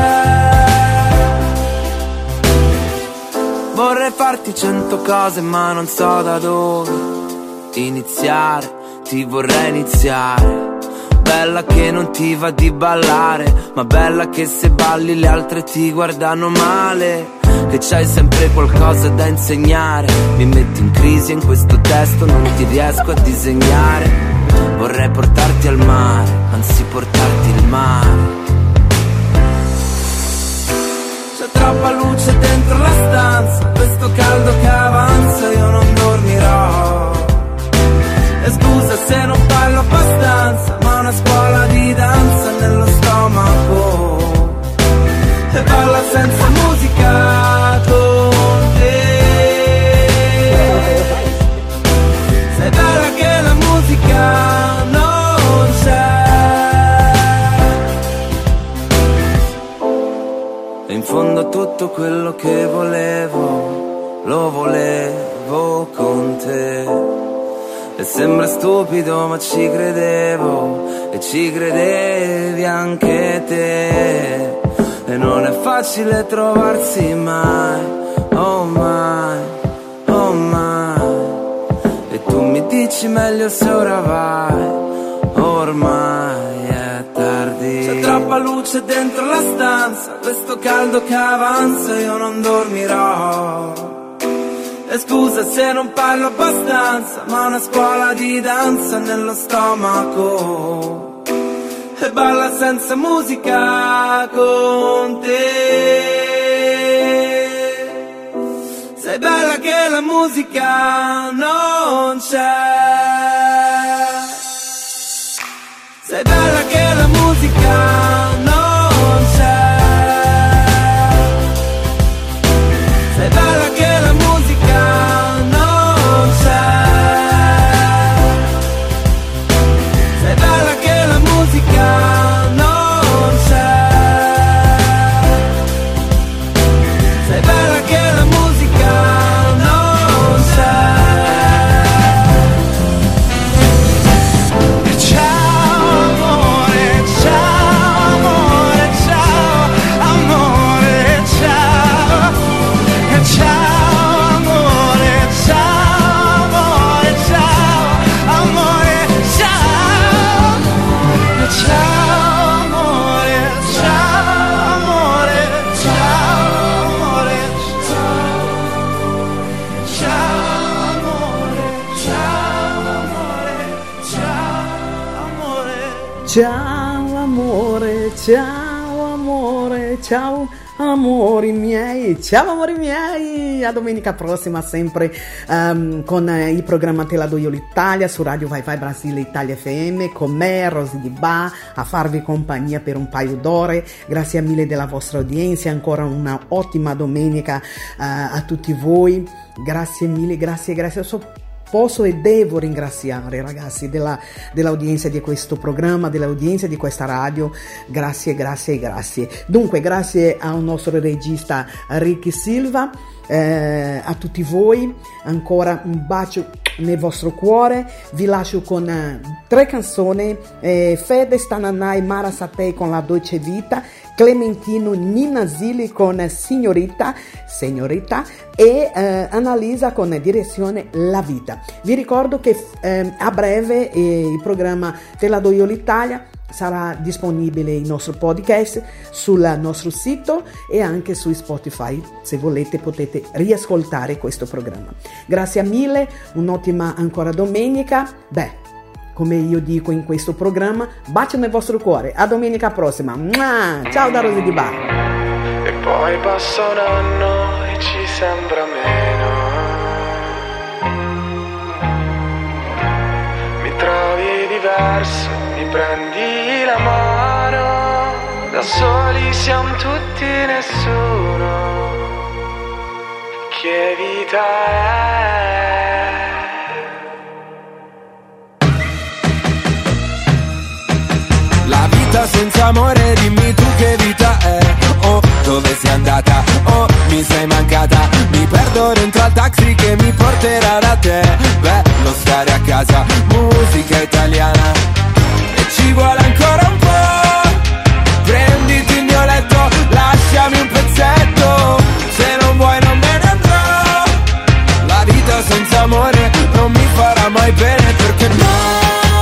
Vorrei farti cento cose ma non so da dove iniziare, ti vorrei iniziare. Bella che non ti va di ballare, ma bella che se balli le altre ti guardano male. Che c'hai sempre qualcosa da insegnare. Mi metti in crisi in questo testo, non ti riesco a disegnare. Vorrei portarti al mare, anzi portarti il mare. C'è troppa luce dentro la stanza, questo caldo che avanza, io non dormirò. E scusa se non parlo abbastanza, ma una scuola di danza nello stomaco. E balla senza musica con te. Sei bella che la musica non c'è. E in fondo tutto quello che volevo, lo volevo con te. E sembra stupido ma ci credevo, e ci credevi anche te. E non è facile trovarsi mai, oh mai, oh mai. E tu mi dici meglio se ora vai, ormai è tardi. C'è troppa luce dentro la stanza, questo caldo che avanza io non dormirò. E scusa se non parlo abbastanza, ma una scuola di danza nello stomaco. E balla senza musica con te. Sei bella che la musica non c'è. Sei bella che la musica non c'è. Sei bella che la musica non c'è. Sei bella che la musica non c'è. Sei bella che la musica non c'è. Ciao amore, ciao amore, ciao amore, ciao. Ciao amore, ciao amore, ciao amore, ciao. Ciao amore, ciao amore, ciao amore, ciao. Ciao amore, ciao amore, ciao amore. Ciao amore, ciao amore, ciao amori miei, ciao amori miei, a domenica prossima sempre um, con eh, il programma Te la do io l'Italia su Radio Vai Vai Brasile Italia F M, con me Rosy Di Ba a farvi compagnia per un paio d'ore. Grazie mille della vostra udienza, ancora una ottima domenica uh, a tutti voi, grazie mille, grazie, grazie. So, Posso e devo ringraziare ragazzi della, dell'audienza di questo programma, dell'audienza di questa radio, grazie, grazie, grazie. Dunque, grazie al nostro regista Ricky Silva, eh, a tutti voi, ancora un bacio nel vostro cuore, vi lascio con eh, tre canzoni, eh, Fede Stananai Mara Satei con La Dolce Vita, Clementino Ninasili con Signorita, Signorita e eh, Annalisa con Direzione La Vita. Vi ricordo che eh, a breve eh, il programma Te la do io l'Italia sarà disponibile il nostro podcast sul nostro sito e anche su Spotify. Se volete potete riascoltare questo programma. Grazie mille, un'ottima ancora domenica. Beh, come io dico in questo programma, bacio nel vostro cuore. A domenica prossima. Mua! Ciao da Rosy Di Ba. E poi passa un anno e ci sembra meno. Mi trovi diverso, mi prendi la mano. Da soli siamo tutti, nessuno. Che vita è? La vita senza amore, dimmi tu che vita è. Oh, dove sei andata? Oh, mi sei mancata. Mi perdo dentro al taxi che mi porterà da te. Bello stare a casa, musica italiana. E ci vuole ancora un po'. Prenditi il mio letto, lasciami un pezzetto. Se non vuoi non me ne andrò. La vita senza amore non mi farà mai bene, perché no.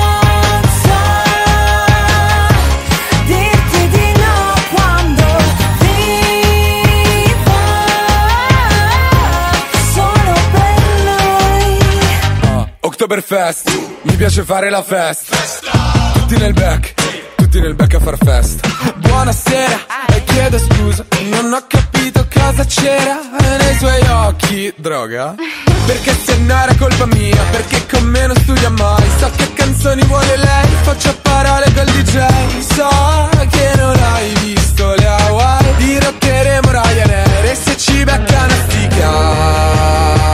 Oktoberfest, mi piace fare la festa. Tutti nel back, tutti nel back a far festa. Buonasera, e chiedo scusa, non ho capito cosa c'era nei suoi occhi. Droga? Perché se no era colpa mia, perché con me non studia mai. So che canzoni vuole lei, faccio a parole col D J. So che non hai visto le Hawaii, dirotteremo Ryanair e se ci becca una stica.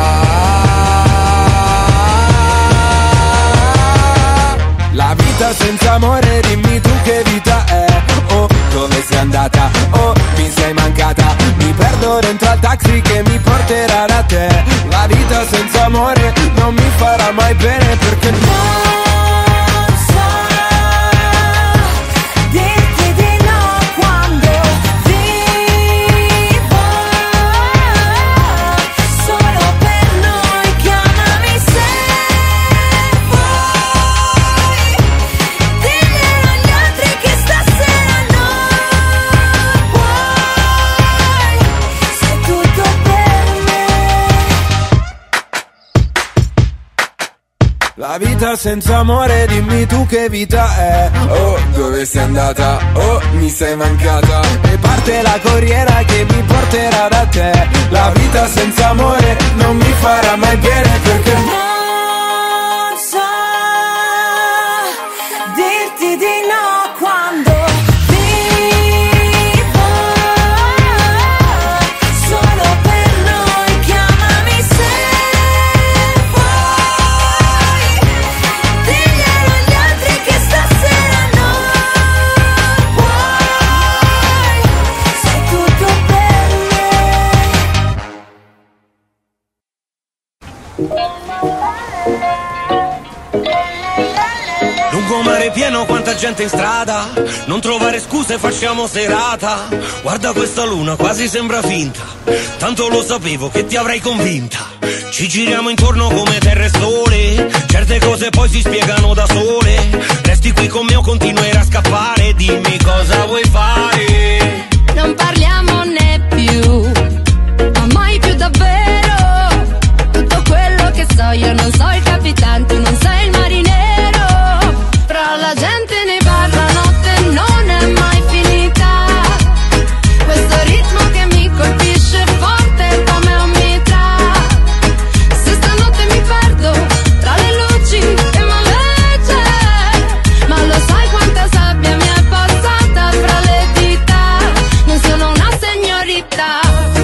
La vita senza amore, dimmi tu che vita è. Oh, dove sei andata? Oh, mi sei mancata. Mi perdo dentro al taxi che mi porterà da te. La vita senza amore non mi farà mai bene, perché perché non so dirti di no quando vivo solo per noi. Chiamami se vuoi, diglielo agli altri che stasera non puoi, sei tutto per me. La vita senza amore, dimmi tu che vita è. Oh, dove sei andata? Oh, mi sei mancata. E parte la corriera che mi porterà da te. La vita senza amore non mi farà mai bene perché Non so dirti di no quando vivo solo per noi. Chiamami se vuoi, diglielo agli altri che stasera non puoi, sei tutto per Lungomare pieno, quanta gente in strada, non trovare scuse, facciamo serata. Guarda questa luna, quasi sembra finta, tanto lo sapevo che ti avrei convinta. Ci giriamo intorno come terra e sole, certe cose poi si spiegano da sole. Resti qui con me o continuerai a scappare, dimmi cosa vuoi fare. Non parliamone più, ma mai più davvero. Tutto quello che so io non so il capitano, tu non sei il marinero. Fra la gente ne parla, notte non è mai finita. Questo ritmo che mi colpisce forte come un mitra. Se stanotte mi perdo tra le luci che m'allegge, ma lo sai quanta sabbia mi è passata fra le dita. Non sono una signorita.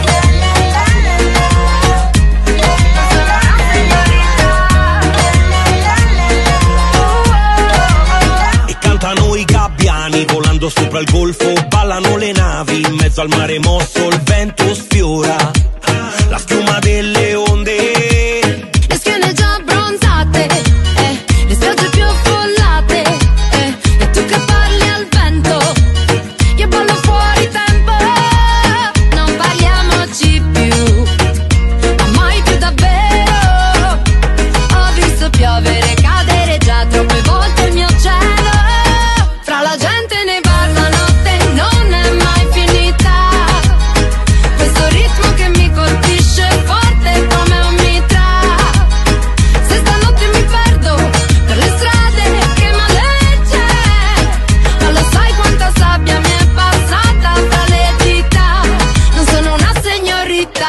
E cantano i gabbiani volando sopra il golfo, ballano le navi in mezzo al mare mosso, il vento sfiora la schiuma delle onde. Le schiene già abbronzate, eh, le spiagge più affollate, eh, e tu che parli al vento, io ballo fuori tempo. Non parliamoci più, ma mai più davvero. Ho visto piovere, cadere già troppe volte il mio cielo. Fra la gente ne parla, notte non è mai finita. Questo ritmo che mi colpisce forte come un mitra. Se stanotte mi perdo per le strade che m'allegge, ma lo sai quanta sabbia mi è passata fra le dita. Non sono una signorita.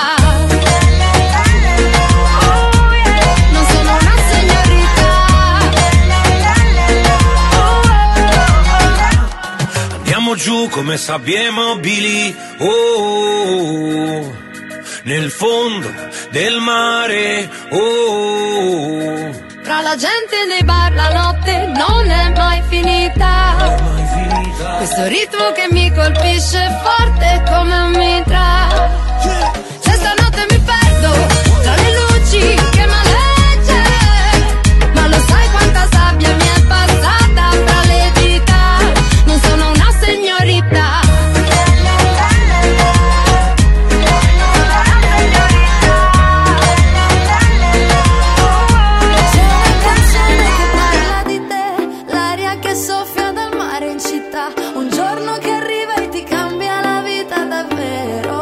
Non sono una signorita. Andiamo giù come sabbie mobili, oh, oh, oh, nel fondo del mare, oh, oh, oh. Fra la gente nei bar la notte non è mai finita. Questo ritmo che mi colpisce forte come un mitra. Se stanotte mi perdo tra le luci che m'allegge, ma lo sai quanta sabbia mi è passata fra le dita. Non sono una signorita. C'è una canzone che parla di te, l'aria che soffia dal mare in città, un giorno che arriva e ti cambia la vita davvero.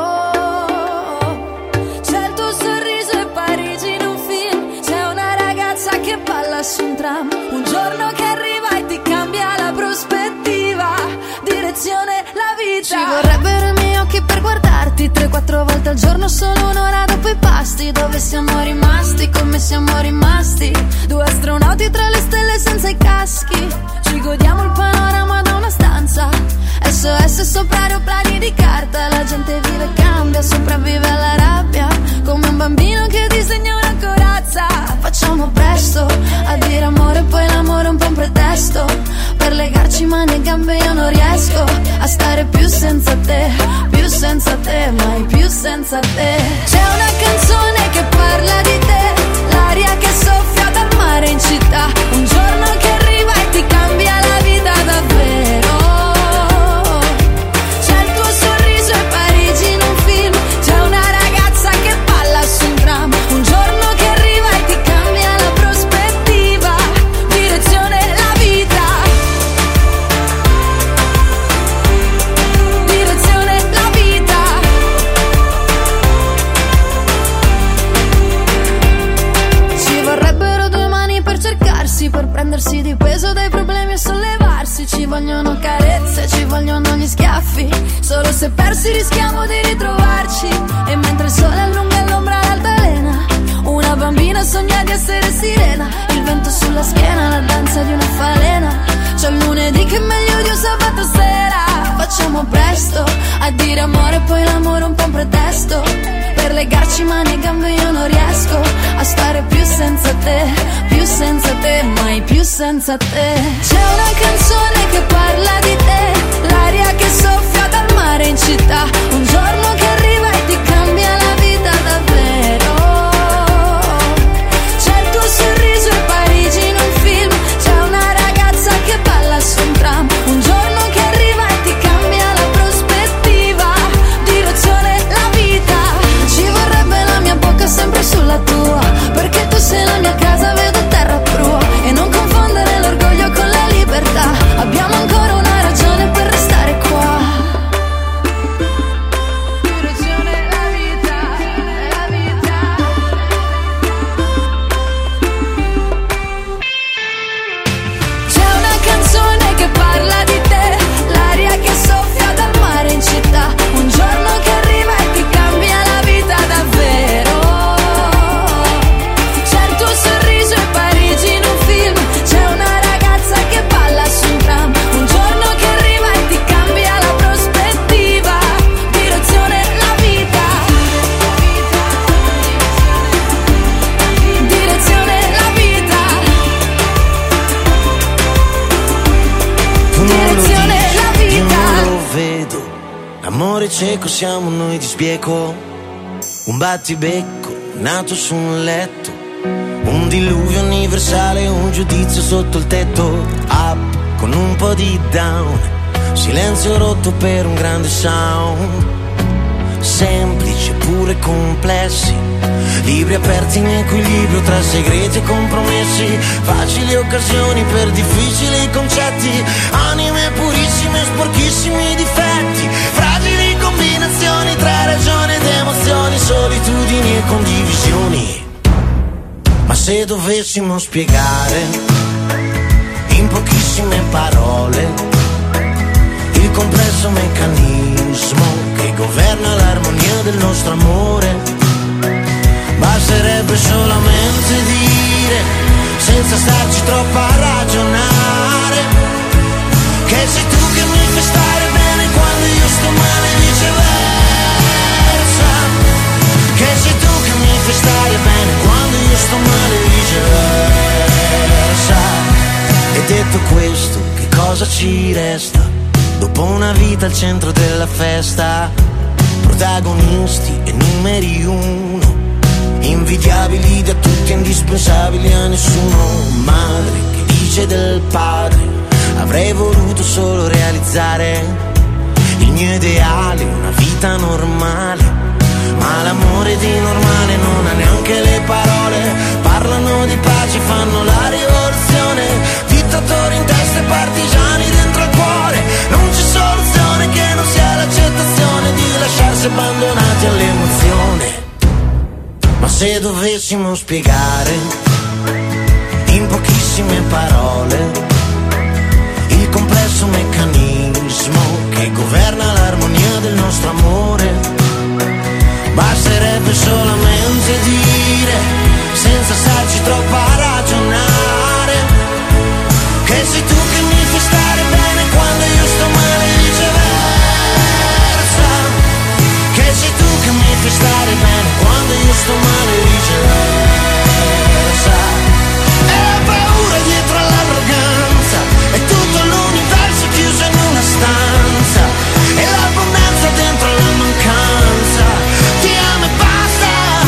C'è il tuo sorriso e Parigi in un film, c'è una ragazza che balla su un tram, un giorno che arriva e ti cambia la prospettiva, direzione la vita. Ci vorrebbero i miei occhi per guardarti tre quattro volte al giorno, solo un'ora dopo i pasti. Dove siamo rimasti, come siamo rimasti, due astronauti tra le stelle senza i caschi. Ci godiamo il panorama da una stanza, S O S sopra aeroplani di carta. La gente vive e cambia, sopravvive alla rabbia, come un bambino che disegna una corazza. Facciamo presto a dire amore, poi l'amore è un po' un pretesto per legarci mani e gambe. Io non riesco a stare più senza te, più senza te, mai più senza te. C'è una canzone che parla di te, l'aria che soffia dal mare in città, alzarsi per prendersi di peso dai problemi e sollevarsi. Ci vogliono carezze, ci vogliono gli schiaffi, solo se persi rischiamo di ritrovarci. E mentre il sole allunga l'ombra all'altalena, una bambina sogna di essere sirena. Il vento sulla schiena, la danza di una falena. C'è il lunedì che è meglio di un sabato sera. Facciamo presto a dire amore, poi l'amore un po' un pretesto per legarci mani e gambe. Io non riesco a stare più senza te, più senza te, mai più senza te. C'è una canzone che parla di te, l'aria che soffia dal mare in città. Un giorno che arriva e ti cambia la vita davvero. C'è il tuo sorriso e Parigi in un film. C'è una ragazza che balla su un tram. Un giorno che arriva e ti cambia la prospettiva, direzione la vita. Ci vorrebbe la mia bocca sempre sulla tua, perché tu sei la mia casa, vedo terra prua. E non confondere l'orgoglio con la libertà, abbiamo ancora una ragione per restare qua. Direzione la vita, la vita. C'è una canzone che parla di te, l'aria che soffia dal mare in città. Un giorno che arriva e ti cambia la vita davvero. C'è il tuo sorriso e Parigi in un film. C'è una ragazza che balla su un tram. Un giorno che arriva e ti cambia la prospettiva, direzione la vita. Direzione la vita. Direzione la vita. Io non lo vedo, l'amore cieco siamo noi di sbieco. Un battibecco nato su un letto, un diluvio universale, un giudizio sotto il tetto. Up con un po' di down, silenzio rotto per un grande sound. Semplici pure complessi, libri aperti in equilibrio tra segreti e compromessi. Facili occasioni per difficili concetti, anime purissime e sporchissimi difetti. Fragili combinazioni tra ragione ed emozioni, solitudini e condivisioni. Ma se dovessimo spiegare in pochissime parole il complesso meccanismo che governa l'armonia del nostro amore, basterebbe solamente dire, senza starci troppo a ragionare, che sei tu che mi fai stare bene quando io sto male e viceversa. Che sei tu che mi fai stare bene quando io sto male e viceversa. E detto questo, che cosa ci resta? Dopo una vita al centro della festa, protagonisti e numeri uno, invidiabili da tutti, indispensabili a nessuno. Madre che dice del padre, avrei voluto solo realizzare il mio ideale, una vita normale. Ma l'amore di normale non ha neanche le parole. Parlano di pace, fanno la rivoluzione, dittatori in testa e partigiani dentro al cuore. Non c'è soluzione che non sia l'accettazione di lasciarsi abbandonati all'emozione. Ma se dovessimo spiegare in pochissime parole il complesso meccanismo che governa l'armonia del nostro amore, basterebbe solamente dire, senza starci troppo a ragionare, che sei tu che mi fai stare bene quando io sto male e viceversa. Che sei tu che mi fai stare bene quando io sto male e viceversa. E la paura dietro all'arroganza, è tutto l'universo chiuso in una stanza, e l'abbondanza dentro la mancanza. Ti amo e basta.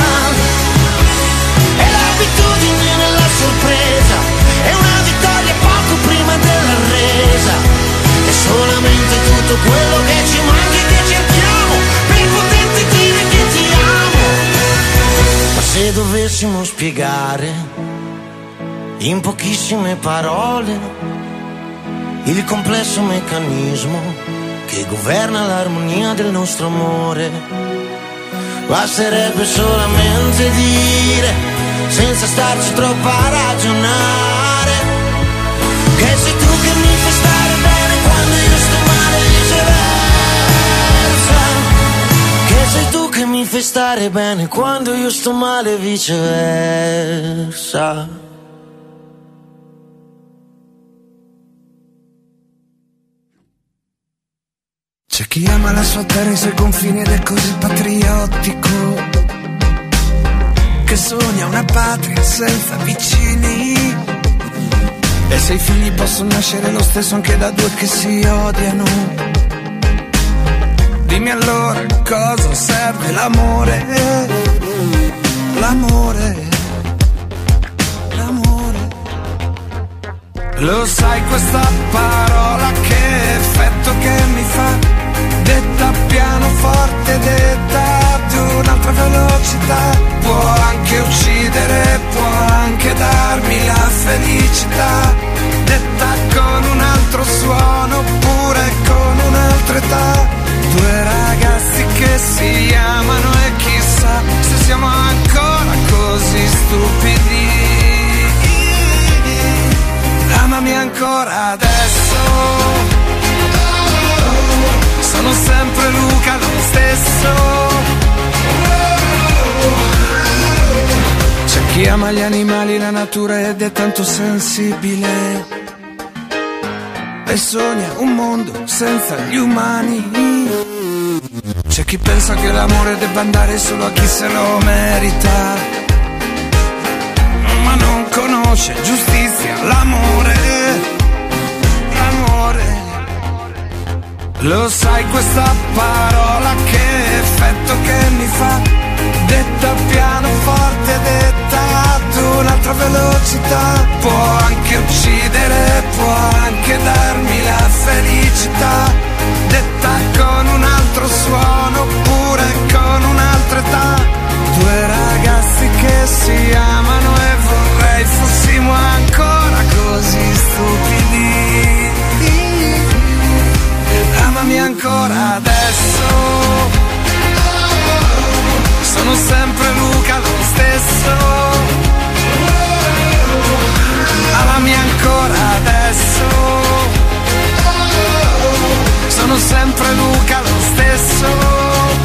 E l'abitudine nella sorpresa, è una vittoria poco prima della resa. È solamente tutto quello che ci manca e che cerchiamo per poter dire che ti amo. Ma se dovessimo spiegare in pochissime parole il complesso meccanismo che governa l'armonia del nostro amore, basterebbe solamente dire, senza starci troppo a ragionare, stare bene quando io sto male, viceversa. C'è chi ama la sua terra e i suoi confini ed è così patriottico, che sogna una patria senza vicini. E se i figli possono nascere lo stesso anche da due che si odiano, dimmi allora cosa serve l'amore, l'amore, l'amore. Lo sai questa parola che effetto che mi fa? Detta pianoforte, detta ad un'altra velocità. Può anche uccidere, può anche darmi la felicità. Detta con un altro suono, oppure con un'altra età. Due ragazzi che si amano e chissà se siamo ancora così stupidi. Amami ancora adesso. Sono sempre Luca lo stesso. C'è chi ama gli animali, la natura ed è tanto sensibile e sogna un mondo senza gli umani. C'è chi pensa che l'amore debba andare solo a chi se lo merita, ma non conosce giustizia, l'amore, l'amore. Lo sai questa parola che effetto che mi fa? Detta pianoforte, detta ad un'altra velocità. Può anche uccidere, può anche darmi la felicità. Detta con un altro suono, oppure con un'altra età. Due ragazzi che si amano e vorrei fossimo ancora così stupidi. Amami ancora adesso. Sono sempre Luca lo stesso. Amami ancora adesso. Sono sempre Luca lo stesso.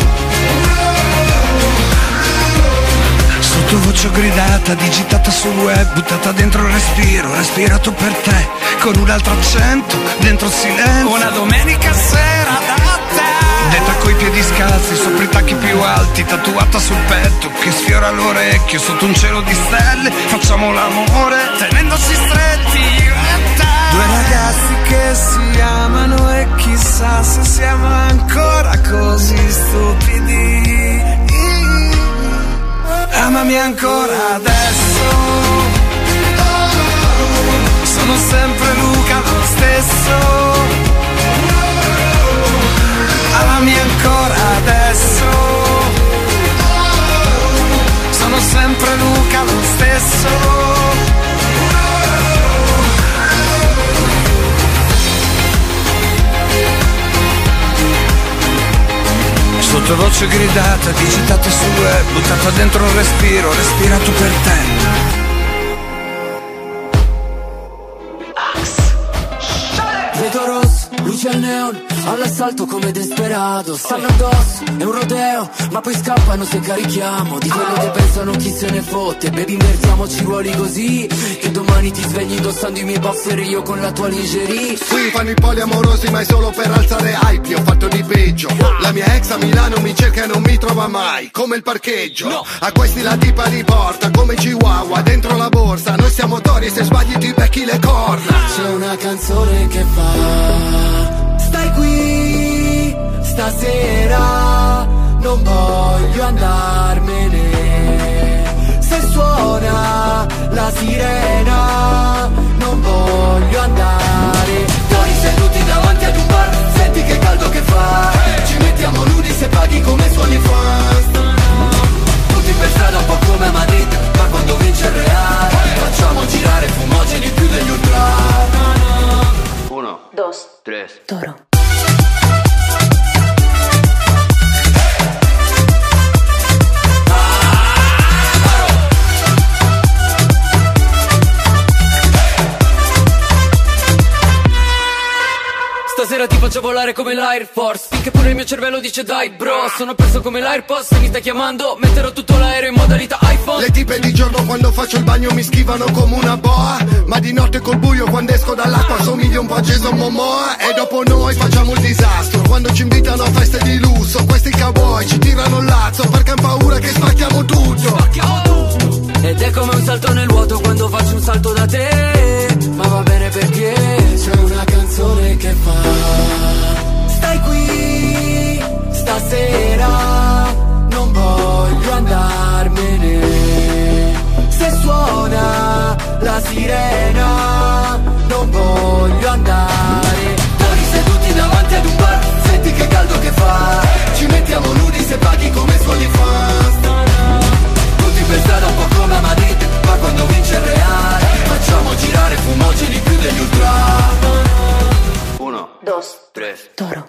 Sottovoce gridata, digitata sul web, buttata dentro il respiro, respirato per te, con un altro accento, dentro il silenzio. Una domenica sera da te, detta coi piedi scalzi, sopra i tacchi più alti, tatuata sul petto, che sfiora l'orecchio, sotto un cielo di stelle, facciamo l'amore, tenendoci stretti io e te. Due ragazzi che si amano e chissà se siamo ancora così stupidi. Amami ancora adesso. Sono sempre Luca lo stesso. Amami ancora adesso. Sono sempre Luca lo stesso. Sottovoce gridata, digitata sul web, buttata dentro il respiro, respirato per te. Vedo rosso, luce al neon, all'assalto come desperato. Stanno addosso, è un rodeo, ma poi scappano se carichiamo. Di quello che pensano chi se ne fotte. Baby, invertiamoci ruoli così, che domani ti svegli indossando i miei boxer e io con la tua lingerie. Qui fanno i poliamorosi ma è solo per alzare hype. Ho fatto di peggio. La mia ex a Milano mi cerca e non mi trova mai. Come il parcheggio, no. A questi la tipa li porta come Chihuahua dentro la borsa. Noi siamo tori e se sbagli ti becchi le corna. C'è una canzone che fa: stai qui stasera, non voglio andarmene. Se suona la sirena, non voglio andare. Noi seduti davanti ad un bar, senti che caldo che fa. Ci mettiamo nudi se paghi come suoni fans. Tutti per strada un po' come a Madrid, ma quando vince il Real facciamo girare fumogeni più degli ultra. Uno, dos, tres, toro. stasera ti faccio volare come l'Air Force. Finché pure il mio cervello dice dai bro, sono perso come l'AirPods. Se mi stai chiamando metterò tutto l'aereo in modalità iPhone. Le tipe di giorno quando faccio il bagno mi schivano come una boa, ma di notte col buio quando esco dall'acqua somiglio un po' a Jason Momoa. E dopo noi facciamo il disastro quando ci invitano a feste di lusso. Questi cowboy ci tirano il lazzo perché han paura che spacchiamo tutto. Spacchiamo tutto. Ed è come un salto nel vuoto quando faccio un salto da te. Ma va bene perché c'è una canzone che fa: stai qui stasera, non voglio andarmene. Se suona la sirena, non voglio andare. Noi seduti davanti ad un bar, senti che caldo che fa. Ci mettiamo nudi se paghi come suoni fan. Tutti per strada un po' come a Madrid, ma quando vince il Real facciamo girare fumogeni più degli ultra. Uno, dos, tres, Toro.